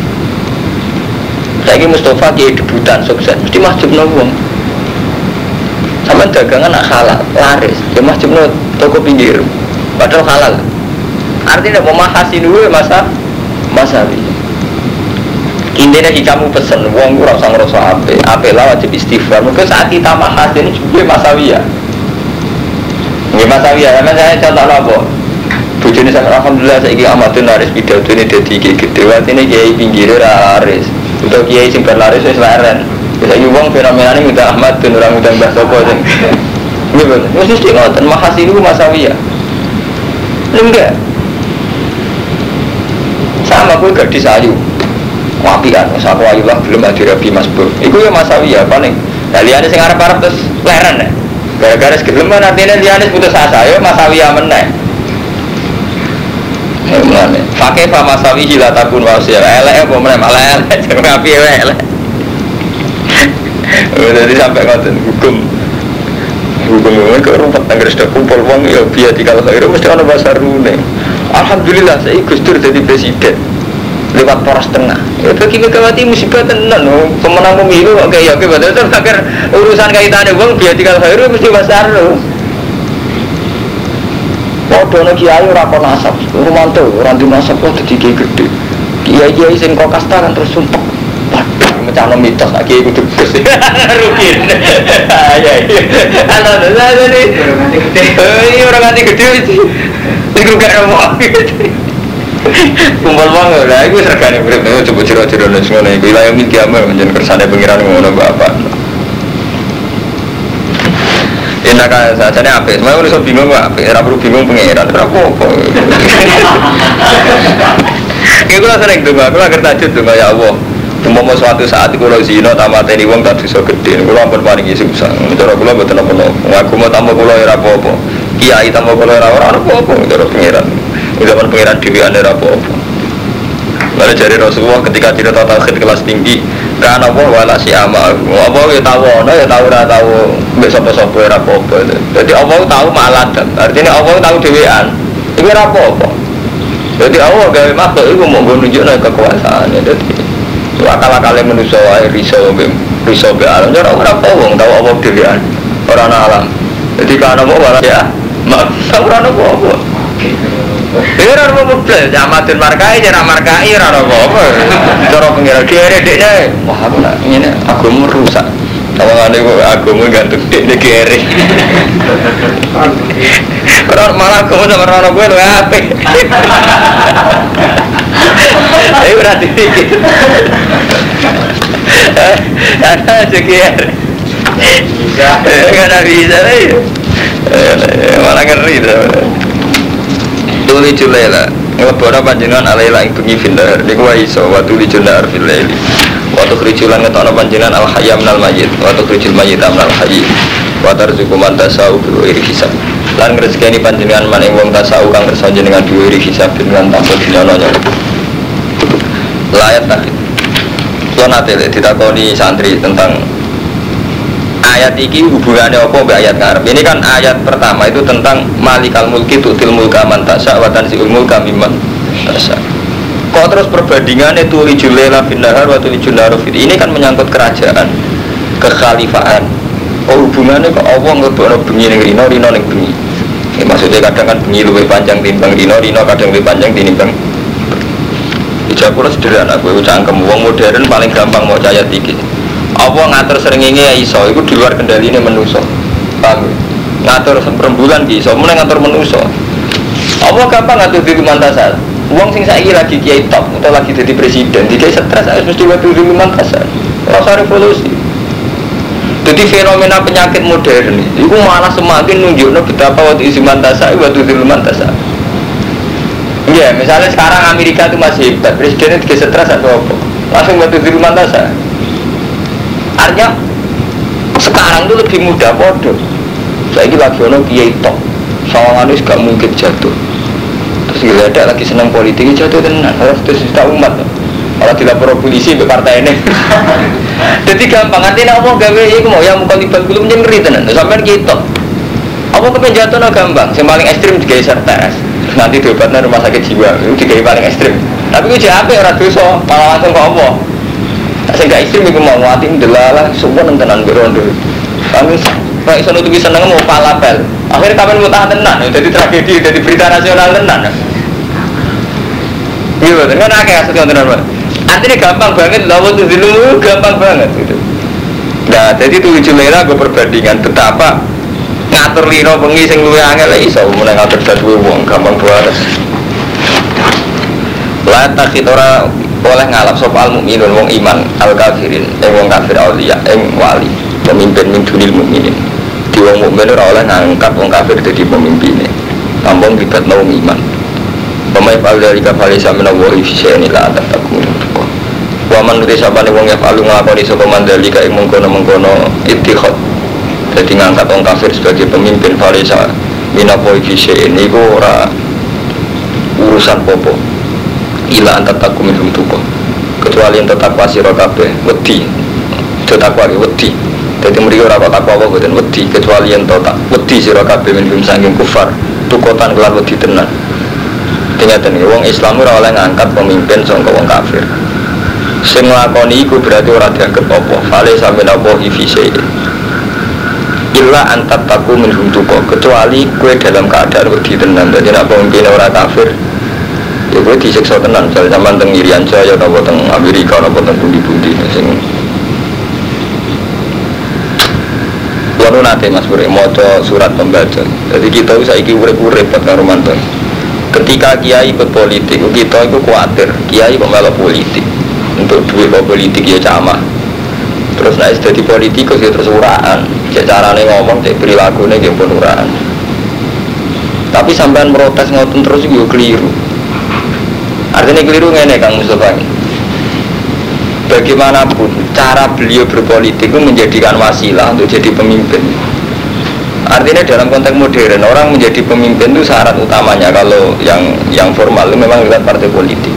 Saiki Mustafa kiai debutan sukses mesti mahjubno wong. Sampeyan dagangan nak halal, laris. Ya mahjubno toko pinggir. Padahal halal. Artinya pemahasin dulu masawi. Intinya kamu pesen wong ora usah ngrasa apik lah wajib istighfar. Mungkin saat kita mahasin juga masawi ya. Nggih masawi ya, saya contoh apa? Bojone sampe alhamdulillah saiki amatun laris pidatone dadi gede. Artine kiai pinggir laris. Untuk kiai sing berlaris wis leren. Saiki wong fenomenane udah Ahmad dan orang udah Mbah Sapa sing. Nggih, mesti ngoten mahasin itu masawi ya. Enggak sama aku gak disayu wapian, masa aku ayu lah belum ada Rabi Mas Bro itu ya masawi ya paling nah liane sing arep-arep terus leren ya gara-gara segeleman artinya liane putus asa ya masawi ya meneh mulane pakai fa masawi hilatakun wasia elek apa meneh malah elek jangan ngapi elek jadi sampai ngoten hukum ke rumput tangga sudah kumpul wong ya biar dikal khairu mesti ana basarune. Alhamdulillah saya Gus Dur jadi presiden lewat poros tengah. Ya bagi Megawati musibah tenan pemenang pemilu kok kayak ya betul agar urusan kaitane wong biar dikal khairu mesti basaru. Padha nek kiai ora kon nasab, rumanto ora di nasab kok dadi kiai gede. Kiai-kiai sing kok kasta kan terus sumpek. Mecahno mitos lagi kudu gus. Rugi. Ya iya. Ana ini. Ini orang ganti gede iki. Iku gak ono. Kumpul wong lha iku regane urip coba jero-jero nek ngono iku wilayah minggu amal menjen kersane pengiran ngono Bapak. Enak kan sajane apik. Semua iso bingung kok apik, ora perlu bingung pengiran. Ora apa-apa. Iku lha sering donga, aku lha kertajud donga ya Allah. Umpama suatu saat kula zina tamateni wong tak dosa gedhe kula ampun paringi susah cara kula mboten apa-apa aku mau tambah kula ora apa-apa kiai tambah kula ora apa-apa cara pangeran udah pangeran dhewean ora apa-apa lalu jari Rasulullah ketika cerita tauhid kelas tinggi kan apa wala si ama apa ya tahu ana ya tahu ora tahu mbek sapa-sapa ora apa-apa dadi Allah tahu maladan artinya Allah tahu dhewean iki ora apa-apa dadi Allah gawe makhluk iku mau nunjukno kekuasaane dadi akal-akale manusia wae risau be alam ora apa wong tau apa dhewean ora ana alam dadi kan apa ora ya mak ora ana apa ora ana apa jamatun markai ora markai ora ana apa cara pengira kere dekne wah aku nak ngene agama rusak tawangane kok agama gantung dekne kere ora malah agama sama ora ana kowe lho apik ayo berarti ada sekian nggak bisa malah ngeri tuli julela ngelebora panjenengan alaila ing bengi findar niku wa iso wa tuli jular fil laili wa tukhrijulan ngetokno panjenengan al hayya minal mayyit wa tukhrijul mayyita minal hayy wa tarzuqu man tasau bi ghairi hisab lan ngrezekeni panjenengan maning wong tasau kang kersa jenengan bi ghairi hisab dengan tanpa dinyono layat tadi kalau nanti ditakoni santri tentang ayat ini hubungannya apa mbak ayat ngarep ini kan ayat pertama itu tentang malikal mulki tutil mulka man tasya wa tanzi'ul mulka mimman tasya kok terus perbandingannya tulijul laila bin nahar wa tulijul nahar ini kan menyangkut kerajaan kekhalifaan hubungannya kok Allah ngelebokno bengi ning rino ning bengi maksudnya kadang kan bengi luwih panjang timbang rino kadang luwih panjang timbang Ijabura sederhana, gue cangkem wong modern paling gampang mau caya tinggi. Apa ngatur srengenge iso, itu di luar kendali ini menuso. Paham? Ngatur perembulan iso, mulai ngatur menuso. Apa gampang ngatur diri mantasal? Wong sing saiki lagi kiai top atau lagi jadi presiden, dikai stres harus mesti ngatur diri mantasal. Rasa revolusi. Jadi fenomena penyakit modern itu malah semakin nunjukno betapa waktu isi mantasal, waktu diri mantasal. Iya, misalnya sekarang Amerika itu masih hebat, presidennya juga stres atau apa langsung batu di rumah tasa. Artinya sekarang itu lebih mudah bodoh. Saya lagi ono kiai top, sawangan itu gak mungkin jatuh. geledak lagi senang politik jatuh tenan harus juta umat. Kalau dilapor polisi ke partai ini. Jadi gampang artinya apa gawe iku mau yang mukalibal belum nyengri tenan. Sampeyan kita. Apa kepen jatuhnya gampang, yang paling ekstrim digawe sertas. Nanti diobatnya rumah sakit jiwa, itu digawe paling ekstrim. Tapi itu jape ora dosa, malah langsung kok apa. Sing gak ekstrim iku mau ati ndelalah semua tenan berondo. Kami Pak iso nutupi seneng mau palapel. Akhirnya kapan mau tahan tenan, jadi tragedi, jadi berita nasional tenan. Iya, kan akeh asal tenan, Pak. Artinya gampang banget, lawan tuh dulu gampang banget gitu. Nah, jadi 7 merah gue perbandingan betapa ngatur lino bengi sing luwih angel iso mulai ngatur dadu wong gampang banget. La takhidora oleh ngalap sapa al mukminun wong iman al kafirin wong kafir auliya wali pemimpin min dunil mukminin. Di wong mukmin ora oleh ngangkat wong kafir dadi pemimpine. Tampung libatno wong iman. Pemain pada jika falisa menawa ifsyani la tatakun. Wa man nuti sabane wong ya palu nglakoni sapa mandalika ing mengkono-mengkono ittikhad. Dadi ngangkat wong kafir sebagai pemimpin falisa menawa ifsyani niku ora urusan popo. Ila antar takum minhum tuko. Kecuali yang takwa sira kabeh wedi. Takwa wedi. Dadi mriki ora kok takwa apa boten wedi kecuali yang tak wedi sira kabeh minhum saking kufar. Tukotan kelan wedi tenan. Dingaten wong Islam ora oleh ngangkat pemimpin saka wong kafir. Sing nglakoni iku berarti ora dianggep apa. Fale sampe napa ifise. Illa antat taku minhum tuko. Kecuali kowe dalam keadaan wedi tenan. Dadi nek pemimpin ora kafir, ya kowe disiksa tenan. Misale sampean teng Irian Jaya atau teng Amerika atau teng pundi-pundi sing Wanu nate Mas Bure maca surat pembaca. Jadi kita saiki urip-urip karo mantan. Ketika kiai ikut politik, kita itu khawatir kiai kok malah politik untuk duit politik ya camah. Terus naik jadi politikus ya terus uraan. Carane ngomong cek perilakunya ya pun uraan. Tapi sampean protes ngoten terus juga keliru. Artinya keliru ngene Kang Mustafa. Bagaimanapun cara beliau berpolitik itu menjadikan wasilah untuk jadi pemimpin. Artinya dalam konteks modern orang menjadi pemimpin itu syarat utamanya kalau yang formal itu memang lewat partai politik.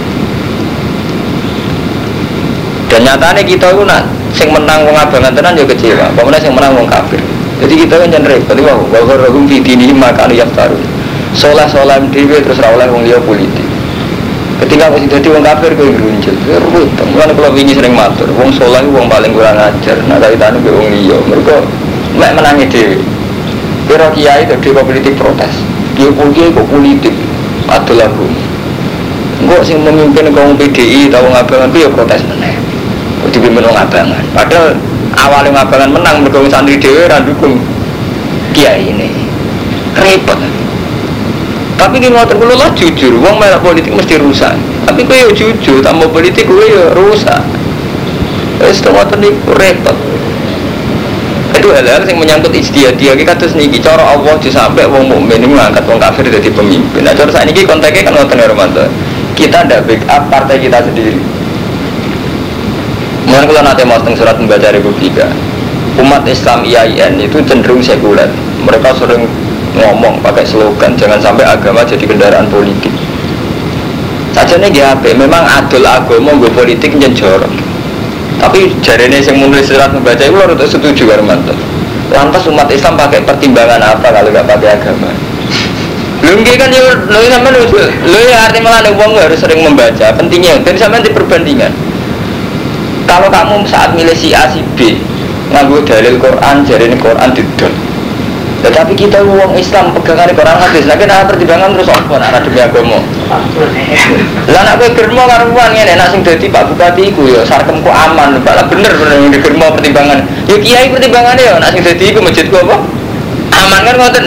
Dan nyatanya kita itu nak sing menang wong abangan tenan ya kecewa. Pokoknya sing menang wong kafir. Jadi kita kan jangan repot. Wa gharrahum fi dinihim ma kanu yaftarun. Soleh-soleh dhewe terus ra oleh wong liya politik. Ketika wis dadi wong kafir kowe ngrunjul. Ruwet. Mulane kula wingi sering matur, wong soleh wong paling kurang ajar. Nah kaitane karo wong liya. Mergo mek menangi dhewe. Kira kiai dadi politik protes. Kiai kok politik adol aku. Engko sing memimpin kaum PDI tau ngabangan ku ya protes meneh. Kok dipimpin wong abangan. Padahal awale ngabangan menang mergo santri dhewe ra ndukung kiai ini. Repot. Tapi ki ngoten kula lah jujur, wong melok politik mesti rusak. Tapi kowe yo jujur, tambah politik kowe yo rusak. Wis ngoten niku repot. Itu hal-hal yang menyangkut ijtihadiyah iki kados niki cara Allah disampe wong mukmin ngangkat wong kafir dadi pemimpin. Nah cara sakniki konteknya kan ngoten ya Romanto. Kita ndak backup partai kita sendiri. Mulai kalau nanti mau tentang surat membaca Republika, umat Islam IAIN itu cenderung sekuler. Mereka sering ngomong pakai slogan jangan sampai agama jadi kendaraan politik. Sajane GHP memang adol agama nggo politik njenjorok. Tapi jarene sing menulis surat membaca itu harus setuju karo mantan. Lantas umat Islam pakai pertimbangan apa kalau nggak pakai agama? Belum kan lo sampai lo ya artinya malah uang harus sering membaca. Pentingnya dan sampai di perbandingan. Kalau kamu saat milih si A si B nganggo dalil Quran jarene Quran didol. Tetapi kita uang Islam pegangan Quran hadis. Lagi ada pertimbangan terus apa? Ada demi agama. Lah nek kowe germo karo wong ngene nek sing dadi Pak Bupati iku ya sarkemku aman, malah bener yang digermo pertimbangan. Ya kiai pertimbangane ya nek sing dadi iku masjidku apa? Aman kan ngoten.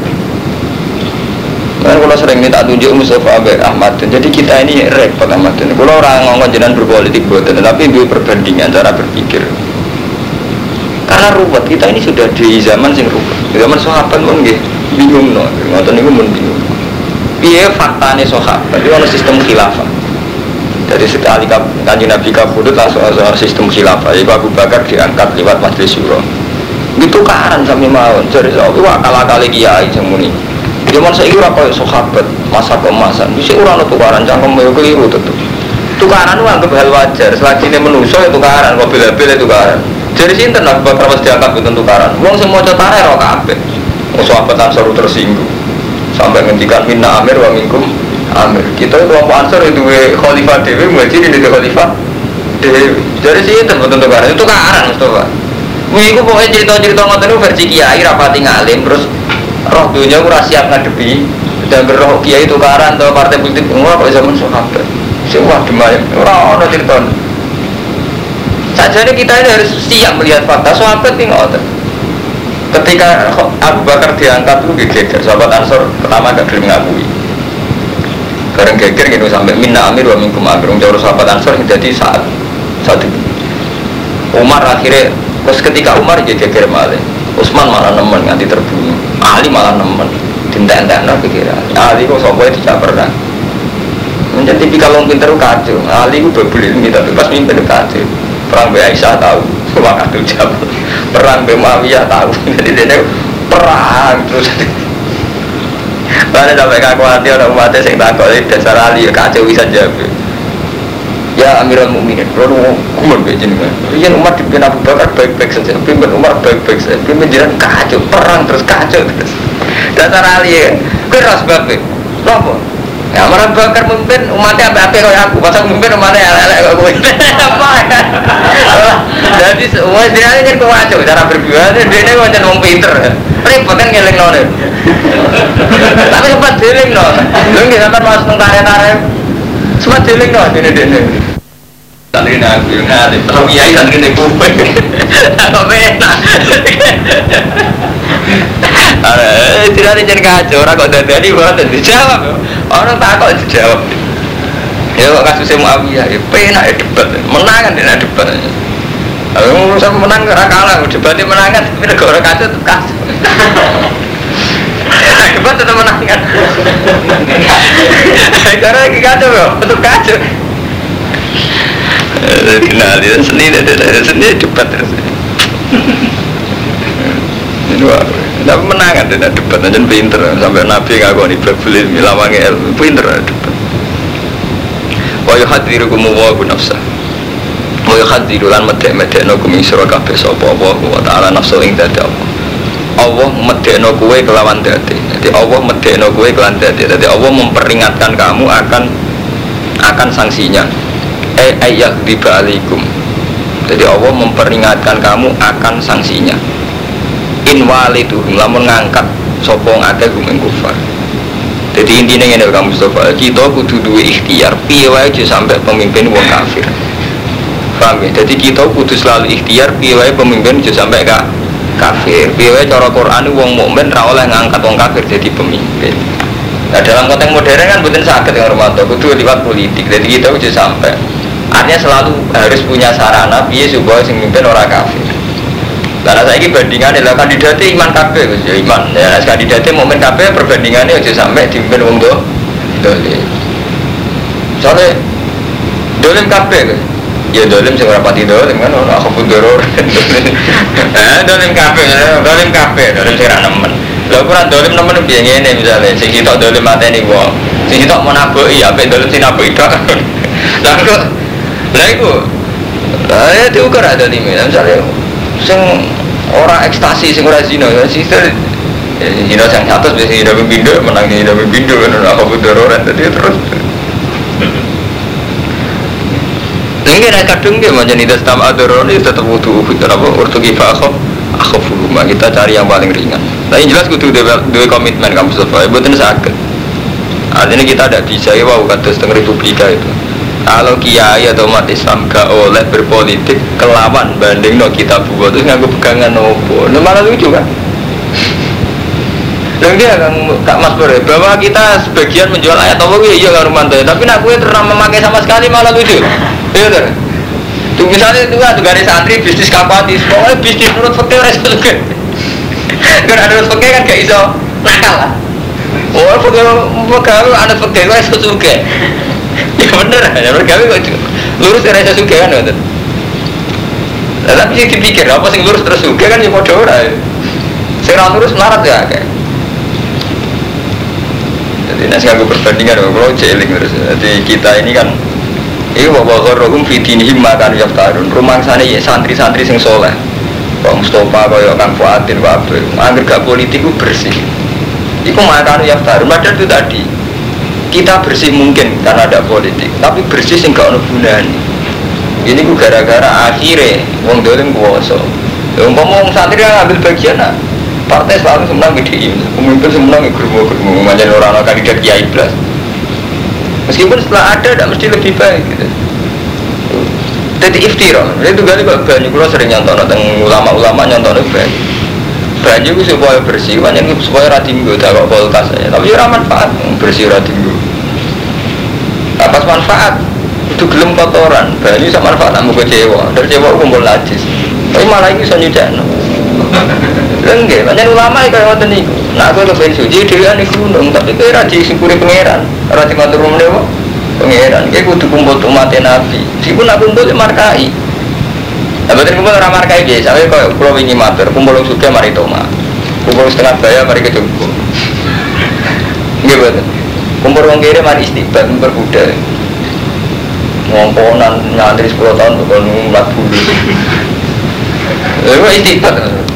Kan kalau sering minta tunjuk Mustafa Abed Ahmad. Jadi kita ini repot Ahmad. Kalau orang ngomong jenengan berpolitik boten, tapi dua perbandingan cara berpikir. Karena ruwet kita ini sudah di zaman sing ruwet. Di zaman sahabat pun nggih bingung no. Ngoten niku mun bingung. Piye faktane sahabat? Itu ana sistem khilafah. Dari sekali Kanjeng Nabi kabudut langsung sistem khilafah. Iku Abu Bakar diangkat lewat majelis syura. Itu karan sami mawon. Jare saiki akal-akale kiai sing muni. Zaman saya ora koyo sahabat masa kemasan. Wis ora ono tukaran cangkem yo keliru tetep. Tukaran itu anggap hal wajar. Selagi ini manusia itu tukaran, kok bila-bila tukaran. Jadi sinten Abu Bakar pas diangkat itu tukaran. Wong sing maca tareh ora kabeh. Wong sahabat Ansor tersinggung. Sampai ngendikan minna amir wa minkum amir. Kita kelompok Ansor itu khalifah dhewe, muhajirin itu khalifah dhewe. Jadi sinten betul tukaran. Itu tukaran Mustafa. Iku pokoknya cerita-cerita ngoten niku versi kiai rapati ngalim terus roh dunia ora siap ngadepi dan roh kiai tukaran atau partai politik ora kok zaman sahabat. Semua demai ora ono cerita. Sajane kita ini harus siap melihat fakta sahabat ini ngoten. Ketika Abu Bakar diangkat itu geger, sahabat Ansor pertama gak gelem ngakui. Bareng geger gitu sampai minna amir wa minkum amir. Jauh sahabat Ansor jadi saat itu. Umar akhirnya terus ketika Umar jadi geger malah, Utsman malah nemen nganti terbunuh, Ali malah nemen, tindak-tindak pikiran. Ali kok sopoe tidak pernah. Menjadi kalau pinter kacau, Ali itu berbeli minta bebas mimpin kacau. Perang Aisyah tahu, waktu jam. Perang Muawiyah tahu, jadi dia perang terus. Mana sampai kaku hati orang umatnya yang takut dasar Ali kacau bisa jawab. Ya Amirul Mukminin, kalau umur begini kan, yang umat dipimpin Abu Bakar baik-baik saja, pimpin Umar baik-baik saja, pimpin jalan kacau, perang terus kacau terus. Dasar Ali ya, keras banget, loh. Ya Abu Bakar memimpin umatnya apa kayak aku, pasang memimpin umatnya elek kok gue. Apa? Jadi semua dia ini kacau cara berjuang, dia ini macam orang pinter, repot kan ngeleng nol. Tapi sempat dealing nol, lu nggak sempat masuk karya-karya. Semua jeling no, dene. Tadi nak aku ngali, kalau kiai tadi ni kuping, apa enak? Tidak ada jadi kacau, orang kok dari buat dijawab, orang tak kok dijawab. Ya kok kasusnya Muawiyah, penak debat, menangan dia debat. Kalau urusan menang karena kalah, debatnya menangan, tapi negara kacau tetap kacau. Debat tetap menangan. Karena lagi kacau loh, tetap kacau. Kenal dia seni debat terus. Ini wah, tapi menangan dia debat, dan pinter sampai Nabi ngakoni berbeli milawangnya pinter debat. Wa yuhadirukum wa nafsah. Wa yuhadirulan medek-medekno kumisira kabeh sapa wa ta'ala nafsu ing dadi Allah. Allah medekno kowe kelawan dadi. Jadi Allah medekno kowe kelawan dadi. Jadi Allah memperingatkan kamu akan sanksinya. Ayat dibalikum. Jadi Allah memperingatkan kamu akan sanksinya. In waliduhum lamun ngangkat sapa ngake gumeng kufar. Jadi intinya ngene kamu Mustafa, kita kudu duwe ikhtiar piye wae aja sampai pemimpin wong kafir. Paham ya? Jadi kita kudu selalu ikhtiar piye wae pemimpin aja sampai kafir. Piye wae cara Quran wong mukmin ra oleh ngangkat wong kafir jadi pemimpin. Nah dalam konteks modern kan mboten saged yang Romanto, kudu liwat politik. Jadi kita aja sampai artinya selalu harus punya sarana piye supaya sing mimpin ora kafir. Karena saya ini bandingan adalah kandidatnya iman kabeh, ya iman. Ya kandidatnya mukmin kabeh perbandingannya aja sampai dipimpin wong dolim. Soalnya dolim kabeh, ya dolim sing ora pati dolim kan ora aku doror. Dolim kabeh sing ra nemen. Lha ora dolim nemen piye ngene misale sing sitok dolim mateni wong. Sing sitok menabuki apik dolim sinabuki tok. Lah iku. Lah ya diukur ada limit misale sing ora ekstasi sing ora zina sister zina sing atas biasa zina pembindo menang zina pembindo kan ora apa dororan tadi terus ini nek kadung ge macam itu stam adoron itu tetap butuh apa urtu kifa akhafu kita cari yang paling ringan tapi jelas kudu duwe komitmen kamu Mustafa mboten saged artinya kita tidak bisa ya wau kados teng republika itu. Kalau kiai atau umat Islam gak oleh berpolitik kelawan banding no kita buat terus nganggo pegangan nopo, malah lucu kan? Dan dia Kak Mas Bore bahwa kita sebagian menjual ayat Allah iya kan Romanto, tapi nak gue pernah memakai sama sekali malah lucu, iya kan? Tuh misalnya itu kan garis santri bisnis kapatis, pokoknya bisnis menurut fakir resiko juga. Karena menurut fakir kan gak iso nakal lah. Oh fakir anak fakir gue iso juga. Ya bener, ya mereka kok lurus dari rasa suka kan betul. Tapi sih dipikir apa sih lurus terus suka kan ya bodoh lah. Sekarang lurus melarat ya kayak. Jadi nasi aku perbandingan kalau jeling terus. Jadi kita ini kan ini bawa rohum fitnihim makan yaftarun. Rumah sana ya santri-santri sing soleh. Pak Mustafa kaya Kang Fuadin wae. Angger gak politik ku bersih. Iku makan yaftarun. Padahal itu tadi kita bersih mungkin karena ada politik, tapi bersih sing gak ono gunane. Ini ku gara-gara akhirnya wong dolim kuwasa. Umpama wong santri ngambil bagian nah, partai selalu semenang gede, pemimpin semenang germo-germo, macam orang-orang kandidat kiai belas. Meskipun setelah ada, tidak mesti lebih baik. Gitu. Jadi iftirah, itu kali kok banyak kalau sering nyontok, tentang ulama-ulama nyontok banyak. Banyak itu supaya bersih, banyak itu supaya ratinggo, tak kok kulkas aja. Tapi ya manfaat bersih ratinggo. Pas manfaat itu gelem kotoran, banyak sama manfaat kamu kecewa, dari kecewa kumpul najis. Tapi malah ini bisa nyucakno. Enggak, banyak ulama yang kayak waktu ini. Nah aku kepengen suci, dia di gunung, tapi kira di simpuri pangeran, rati matur dewa pangeran. Kayak kudu kumpul umatnya nabi. Meskipun aku kumpul markai. Nah betul kumpul orang markai guys. Saya kalau pulau ini matur, kumpul suka mari toma, kumpul setengah bayar mari kejumpu. Enggak betul. Kumpul orang kiri mari istiqbal, berbuda. Ngomponan nyantri 10 tahun bukan ngulat bulu. Itu istighfar.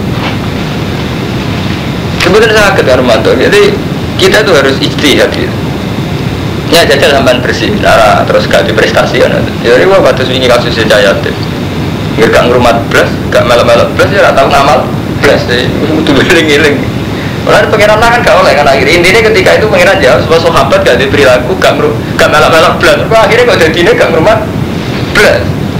Sebenarnya sangat Armando. Jadi kita tuh harus ijtihad gitu. Ya jajal sampai bersih, cara terus ganti prestasi kan. Jadi wah batas ini kasusnya Jayatin. Nggak ngrumat belas, nggak melok-melok belas ya tahu ngamal belas. Itu beling-beling. Orang pengiran kan gak oleh kan akhirnya intinya ketika itu pengiran jawab sebuah sahabat gak ada perilaku gak melok-melok belas. Akhirnya kok jadinya gak ngrumat belas.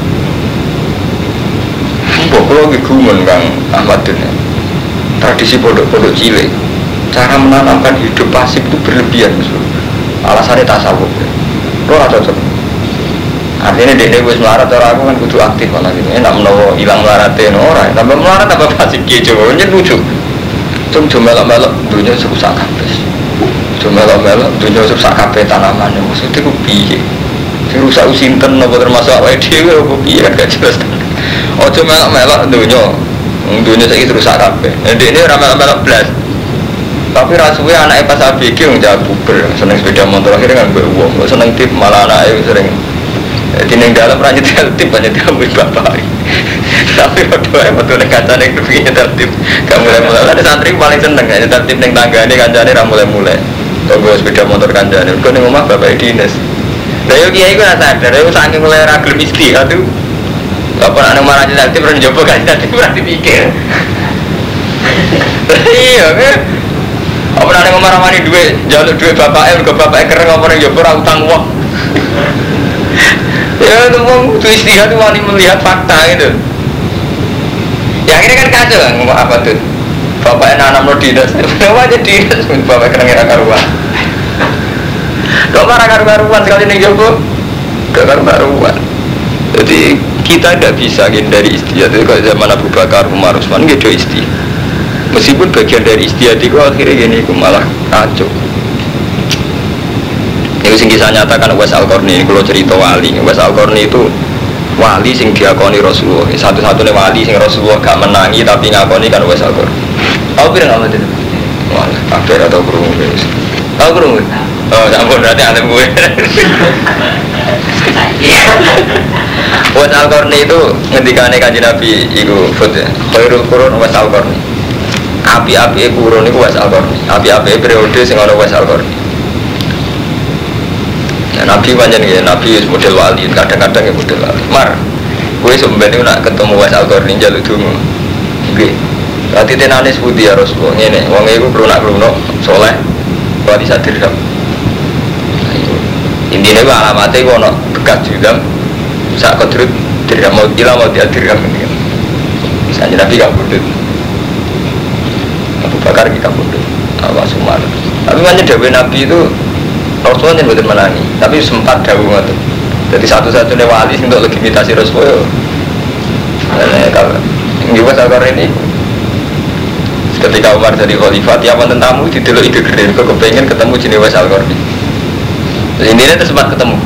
Kalau gumun Kang Ahmad ini tradisi pondok-pondok cilik cara menanamkan hidup pasif itu berlebihan alasannya tasawuf lo gak cocok artinya dia wis melarat orang aku kan kudu aktif malah ini enak menawa hilang melaratnya orang tambah melarat tambah pasif gitu ini lucu cuma melok-melok dunia serusak kabeh cuma melok-melok dunia serusak kabeh tanamannya maksudnya itu piye serusak usinten apa termasuk awal dewe apa piye kan gak jelas. Ojo melok-melok dunia saya terus kabeh. Ini melok-melok belas. Tapi rasanya anaknya pas ABG menjawab puber, seneng sepeda motor akhirnya nggak beruang, seneng tip malah anaknya sering. Tineng dalam ranjut tip banyak diambil bapak. Tapi waktu betul kaca neng nyetel tip, kamu mulai ada santri paling seneng nyetel tip neng tangga ini kancane mulai. Kalau sepeda motor kancane, kau neng rumah bapak dinas. Dari kiai gue nggak sadar, dari saking mulai ragil misti, aduh. Apa nak marah jadi aktif orang jawab kan jadi berarti pikir. Iya kan? Apa nak marah-marah duit jalur duit bapaknya ke bapaknya keren apa orang jawab orang utang uang. Ya itu mau tuh istihad tuh wani melihat fakta gitu. Ya akhirnya kan kacau kan ngomong apa tuh? Bapaknya nanam lo dinas, kenapa aja dinas? Bapak keren karuan. Kau marah karuan sekali nih jawab, karuan. Jadi kita tidak bisa hindari istihad itu kalau zaman Abu Bakar, Umar, Utsman gitu istihad. Meskipun bagian dari istihad itu akhirnya gini malah kacau. Ini sing kisah nyatakan Uwais Al-Qarni kalau cerita wali. Uwais Al-Qarni itu wali sing diakoni Rasulullah. Satu-satunya wali sing Rasulullah gak menangi tapi ngakoni kan Uwais Al-Qarni. Tahu pirang apa itu? Wah, akhir atau kurung guys. Tahu kurung? Oh, campur berarti alim gue. Uwais Al-Qarni itu ngendikane Kanjeng Nabi iku fut ya. Khairul qurun Uwais Al-Qarni. Api-api kurun iku Uwais Al-Qarni. Api-api periode sing ana Uwais Al-Qarni. Ya, Nabi panjang ya, Nabi model wali, kadang-kadang ya model wali. Mar, gue sebenarnya nak ketemu Uwais Al-Qarni jaluk dungu. Oke, berarti tenanis putih ya Rasulullah. Ini, wong itu berunak-berunak, soleh, wali sadirham. Intinya gue alamatnya gue nak bekas juga, saat kodrut dirham mau gila mau dia dirham ini. Misalnya Nabi gak bodoh, Abu Bakar kita bodoh, Awas Umar. Tapi banyak Dewi Nabi itu Rasulullah yang betul menangi, tapi sempat dahulu itu. Jadi satu-satunya wali untuk legitimasi Rasulullah. Dan kalau Uwais Al-Qarni ini, ketika Umar jadi khalifah, tiap tentamu di dulu ide gede, kok kepengen ketemu jenis Uwais Al-Qarni. Intinya itu sempat ketemu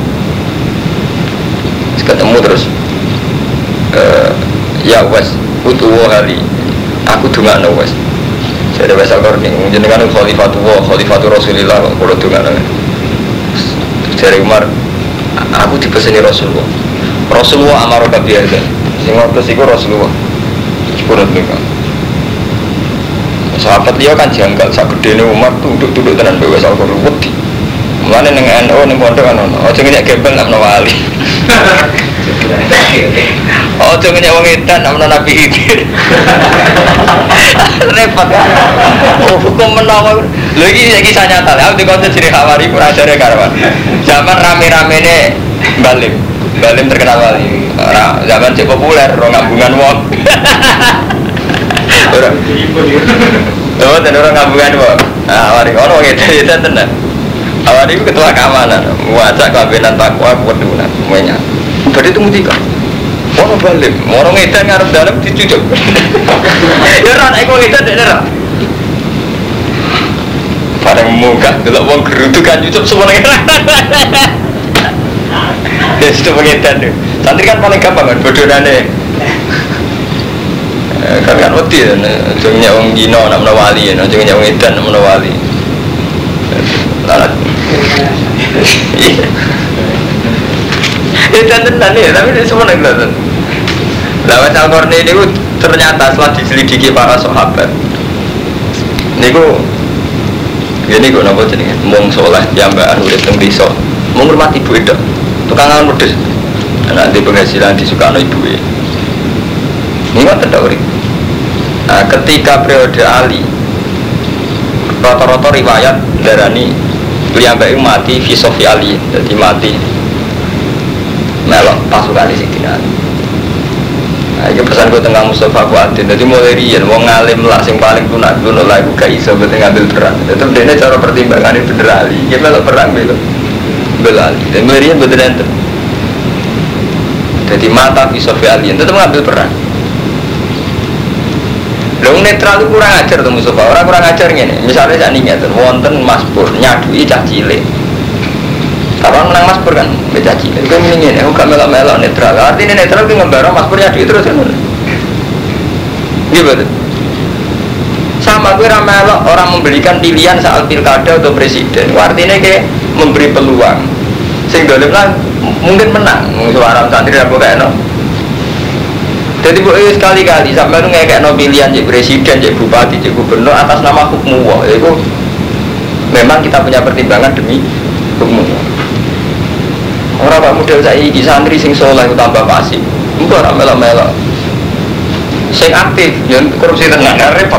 terus. Ya Uwais, utuwa hari, aku dungak no Uwais. Dari bahasa Korni, jenengan Khalifatul Rasulillah, kalau dengan dari Umar, aku dipeseni Rasulullah. Rasulullah amar kabiyada. Sing ngotos iku Rasulullah. Sepurut niku. Sahabat dia kan janggal sak gedene Umar tunduk-tunduk tenan bae wis alkohol wedi. Mulane ning NU ning pondok kan ono. Aja nyek gembel nak wali. Aja nyek wong edan nak Nabi Khidir. Repot. Oh, hukum menawa. Lho iki kisah nyata. Aku dikonten ciri Hawari ora jare karawan. Zaman rame-ramene Balim. Balim terkenal wali. Ora zaman cek populer ro ngambungan wong. Orang oh, dan orang ngambungan wong. Nah, Hawari ono ngene tenan. Hawari itu ketua keamanan, wajah kabinet takwa kepedulian semuanya. Berarti itu mutika. Orang Balim, orang edan ngarep dalam dicucuk. Ya ora nek wong edan nek ora. Bareng munggah delok wong gerutu kan cucuk semuanya. Ya sudah pengedan deh. Santri kan paling gampang kan bodonane. Kan wedi ya, jengnya wong Gino nak menawali ya, jengnya wong edan nak menawali. Lalat. Edan tenan ya, tapi ini semua nak kelihatan. Lawat Al-Qarni ini ternyata setelah diselidiki para sahabat, niku ini kok napa jenenge mung saleh piyambakan urip teng desa, mung ngurmati ibu itu. Tukangan pedes. Anak di penghasilan disukano ibuke. Ini kan tidak urip. Nah, ketika periode Ali, rata-rata riwayat darani piyambake mati fi sofi Ali, jadi mati melok pasukan di sini. Nah, ini pesan gue tengah Mustafa Fuadin. Jadi mulai rian, wong ngalim lah, sing paling tunak dulu lah, gue gak iso betul ngambil perang. Itu dia cara pertimbangan ini bener Ali. Dia melok perang bel Ali. Dan mulai rian betul ente. Jadi mata filosofi Ali, tetap ngambil perang. Long netral itu kurang ajar tuh Mustafa. Orang kurang ajar gini. Misalnya saya ingat, wonten Mas Pur nyadui cah cilik. Abang menang Mas Pur kan, beda cilik. Itu mendingin, aku gak melok-melok netral. Artinya netral itu ngembarang Mas Pur nyadui terus kan. Gimana? Sama gue ramelok orang memberikan pilihan soal pilkada atau presiden. Artinya kayak memberi peluang. Sehingga dalam mungkin menang. Suara santri aku kayak no. Jadi sekali-kali sampai itu kayak no pilihan jadi presiden, jadi bupati, jadi gubernur atas nama hukum Allah. Itu memang kita punya pertimbangan demi hukum Allah. Orang pak model saya ini santri sing soleh tambah pasif. Enggak orang melok-melok. Sing aktif, yang korupsi tenang, repot.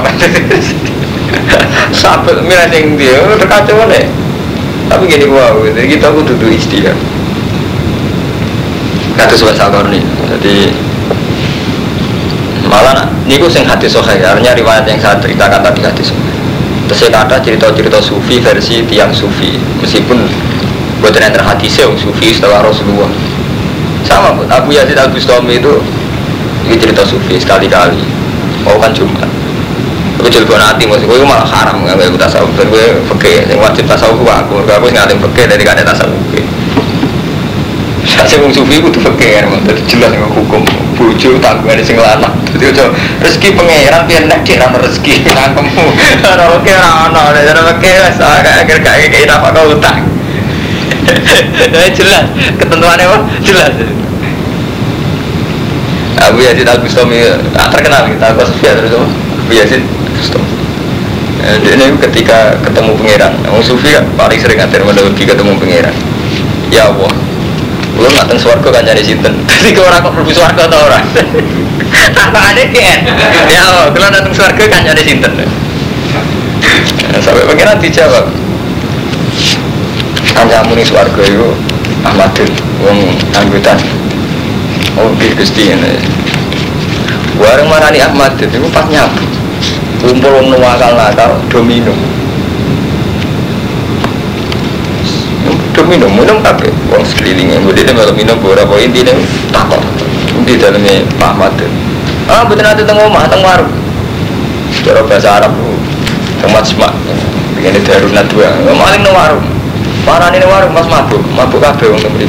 Sampai milih sing dia terkacau nih. Tapi gini wow, jadi kita aku duduk istilah. Kata sobat sakor nih, jadi malah niku sing hadis sahih, artinya riwayat yang saya ceritakan tadi hadis sahih. Terus saya kata cerita-cerita sufi versi tiang sufi, meskipun buatan yang terhadisnya sufi setelah Rasulullah. Sama pun Abu Yazid Al-Bustami itu cerita sufi sekali-kali. Mau kan Jumat. Tapi jelgo nanti maksud gue malah haram nggak gue tasawuf. Dan gue fakir, yang wajib tasawuf aku ngalim fakir dari kada tasawuf. Saya wong sufi itu fakir, jadi jelas dengan hukum bujuk tanggungan di singlana. Jadi rezeki pangeran biar nak dia ramah rezeki nangkemu. Orang fakir orang fakir saya kayak apa kau utang. Jelas ketentuannya apa? Jelas. Abu Yazid Al-Bustami terkenal kita Abu Sufyan terus Abu Yazid Al-Bustami. Ini ketika ketemu pangeran, orang sufi kan paling sering ngatur menduduki ketemu pangeran. Ya Allah, lu nggak swarga kan jadi sinten. Jadi kau orang kok perlu swarga atau orang? Tanpa ada kan? Ya Allah, kalau datang swarga kan jadi sinten. Sampai pangeran dijawab. Kancamu ning swarga iku Ahmadun wong anggutan. Oh, Gusti ini. Warung marani Ahmadun iku pas nyabu. Kumpul wong nakal domino. Domino minum kabeh wong sekelilinge. Mudine malah minum ora apa intine takon. Di dalamnya Pak Ahmadun. Ah, mboten ate teng omah, teng warung. Cara bahasa Arab tempat semak. Begini darunat dua. Maling nang warung. Parane ning warung Mas mabuk kabeh wong mriki.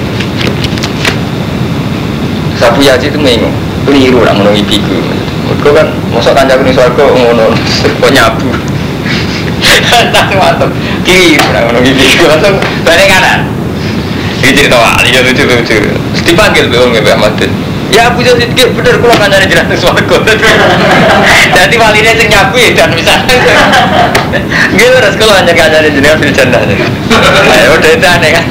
Sabu Yaji itu mengu, keliru nak ngono ipiku. Mergo kan mosok kancaku ning swarga ngono, kok nyabu. Langsung mantep. Kiri, orang kiri. Langsung balik kanan. Ini cerita wali ya lucu-lucu. Dipanggil Mbak Ahmad. Ya Abu Yazid ki bener kula kancane jenengan swarga. Dadi waline sing nyabu dan misalnya. Nggih terus kula hanya kancane jenengan fil jannah. Ayo detane kan.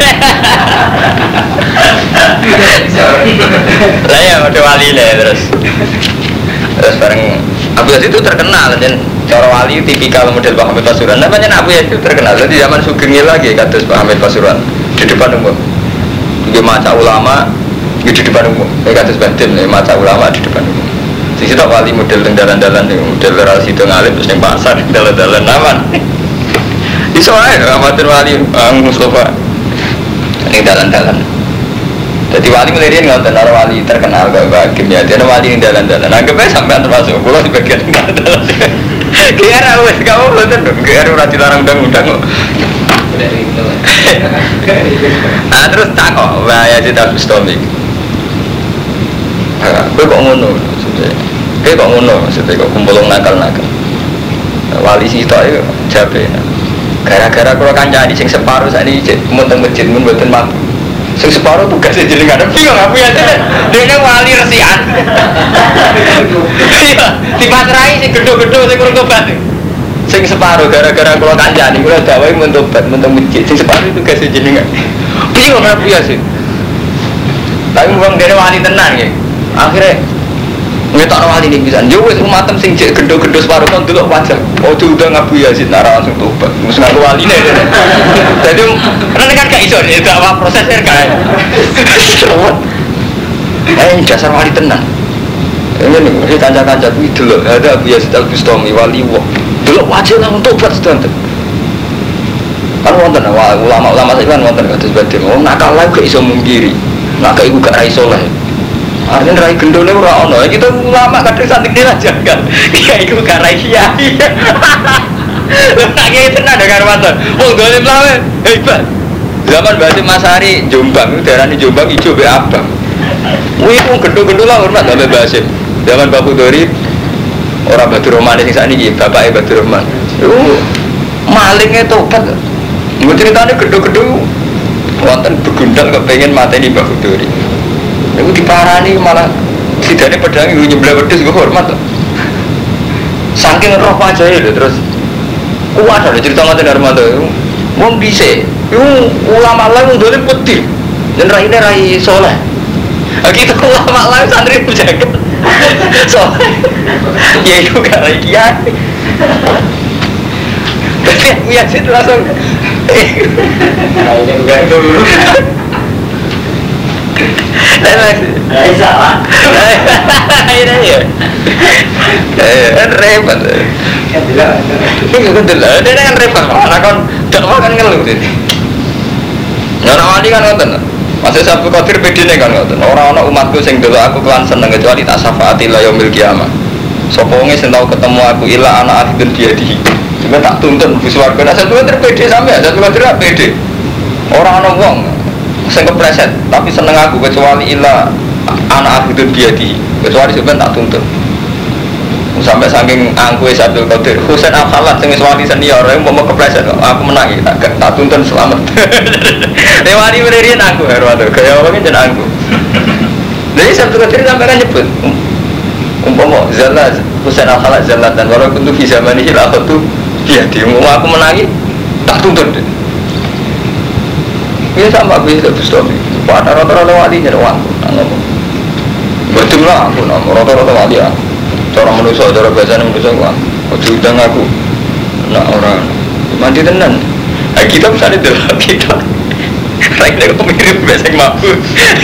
Lah ya udah waline terus. Terus bareng Abu Yazid itu terkenal dan cara wali tipikal model Pak Hamid Pasuruan. Namanya Abu Yazid itu terkenal. Jadi zaman Sugeng lagi kados Pak Hamid Pasuruan di depan umum. Dia maca ulama di depan umum. Kados Badim maca ulama di depan umum. Di situ wali model dalan-dalan model relasi itu ngalim terus ning pasar dalan-dalan aman. Di sore amatir wali Mustafa ning dalan-dalan. Jadi wali melirian ngoten ora wali terkenal kok Hakim ya. Dia wali ning dalan-dalan. Anggapnya sampean termasuk kula di bagian dalan-dalan. Kira wis kamu mboten kira ora dilarang undang-undang kok. Ah terus takok bahaya Cita Bustami. Kowe kok ngono maksudnya. Kowe kok ngono maksudnya kok kumpul nakal-nakal. Wali sitok iku jabe. Gara-gara kula kancani sing separo sakniki mun teng masjid mun mboten mampu. Sing separo tugasnya jenengan bingung aku ya dene wali resikan. Iya, dipatrai sing gedho-gedho sing kurang tobat. Sing separo gara-gara kula kancani kula dawahi mun tobat mun teng masjid sing separo tugasnya jenengan. Bingung aku ya sih. Tapi wong dene wali tenan nggih. Akhirnya ngetok wali ini bisa. Yo wis umatem sing jek gedho-gedho separo kon delok wajah. Oh diundang Abu Yazid nara langsung tobat. Mesti ngaku waline. Jadi kan gak iso itu apa prosesnya kan. Dasar wali tenan. Ini nih kanca-kanca kuwi delok ada Abu Yazid Al-Bustami wali wong. Delok wajah langsung tobat sedanten. Kan wonten ulama-ulama saiki kan wonten kados badhe. Wong nakal lha gak iso mungkiri. Nak iku gak ra iso lah. Artinya rai gendone ora ono. Kita ulama kadang santik aja kan. Kiai iku gak rai kiai. Lha tak kiai tenan ya karo waton. Wong dolim lawe hebat. Zaman Basim Masari Jombang, darani Jombang ijo be abang. Kuwi wong gendho-gendho lah hormat ambek Basim. Zaman Bapak Dori ora Badur Rahman sing sakniki, bapake Badur Rahman. Malinge tobat. Mbok critane gendho-gendho wonten begundal kepengin mateni Bapak Dori. Niku diparani malah sidane pedang iku nyebleh wedhus kok hormat to. Saking roh pajae lho terus kuat ada cerita ngoten Armando. Wong dhisik iku ulama lain ndone putih. Yen raine rai saleh. Kita ulama lain santri jagat. Saleh. Ya iku gak rai kiai. Tapi ya situ langsung raine enggak dulu. Salah. Ini ya. Repot. Ini kan repot. Karena kan dakwah kan ngeluh ini. Orang wali kan ngoten. Masih Abdul Qadir bedine kan ngoten. Orang-orang umatku sing dulu aku kelan seneng kecuali tak syafaati la yaumil qiyamah. Sapa wonge sing tau ketemu aku ila ana akhidun biadihi. Cuma tak tuntun bus warga. Nah satu terpede sampe satu Qadir pede. Orang ana wong sing kepreset tapi seneng aku kecuali ila anak aku itu biadi kecuali sebenarnya tak tuntut sampai saking angku Abdul Qadir Husain Al-Khalat sing wali senior yang mau kepreset aku menang tak tuntun selamat lewati berian aku herwaduh kaya orang ini jangan aku jadi Abdul Qadir sampai kan nyebut umpama Zallah Husain Al-Khalat Zallah dan walaupun itu bisa manihil aku tuh biadi mau aku menangi tak tuntut ini sama bisa Bustami pada rata-rata wali jadi uang betul lah aku rata-rata wali ya cara manusia, cara biasanya manusia uang ujung aku nak orang mandi tenan kita misalnya dalam kita rakyat aku mirip biasanya mampu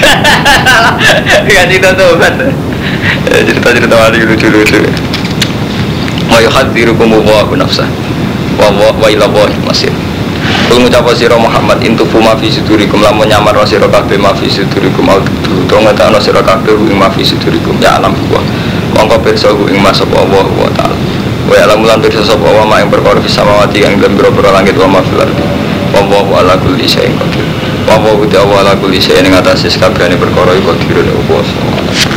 kan cerita tuh cerita-cerita wali lucu-lucu ma yuhadzirukum Allahu nafsah wa ila Allahi masir. Kul ngucap sira Muhammad intufu ma fi sudurikum lamun nyamar sira kabeh ma fi sudurikum audu to ngetakno sira kabeh ing ma fi sudurikum ya alam wa mongko pirsa ing masapa Allah wa taala wa alam lan pirsa sapa wa ma ing perkara samawati ing lembiro langit wa ma fil ardi wa ala kulli syai'in qadir wa ala kulli syai'in ing atase kabehane perkara iku qadirun apa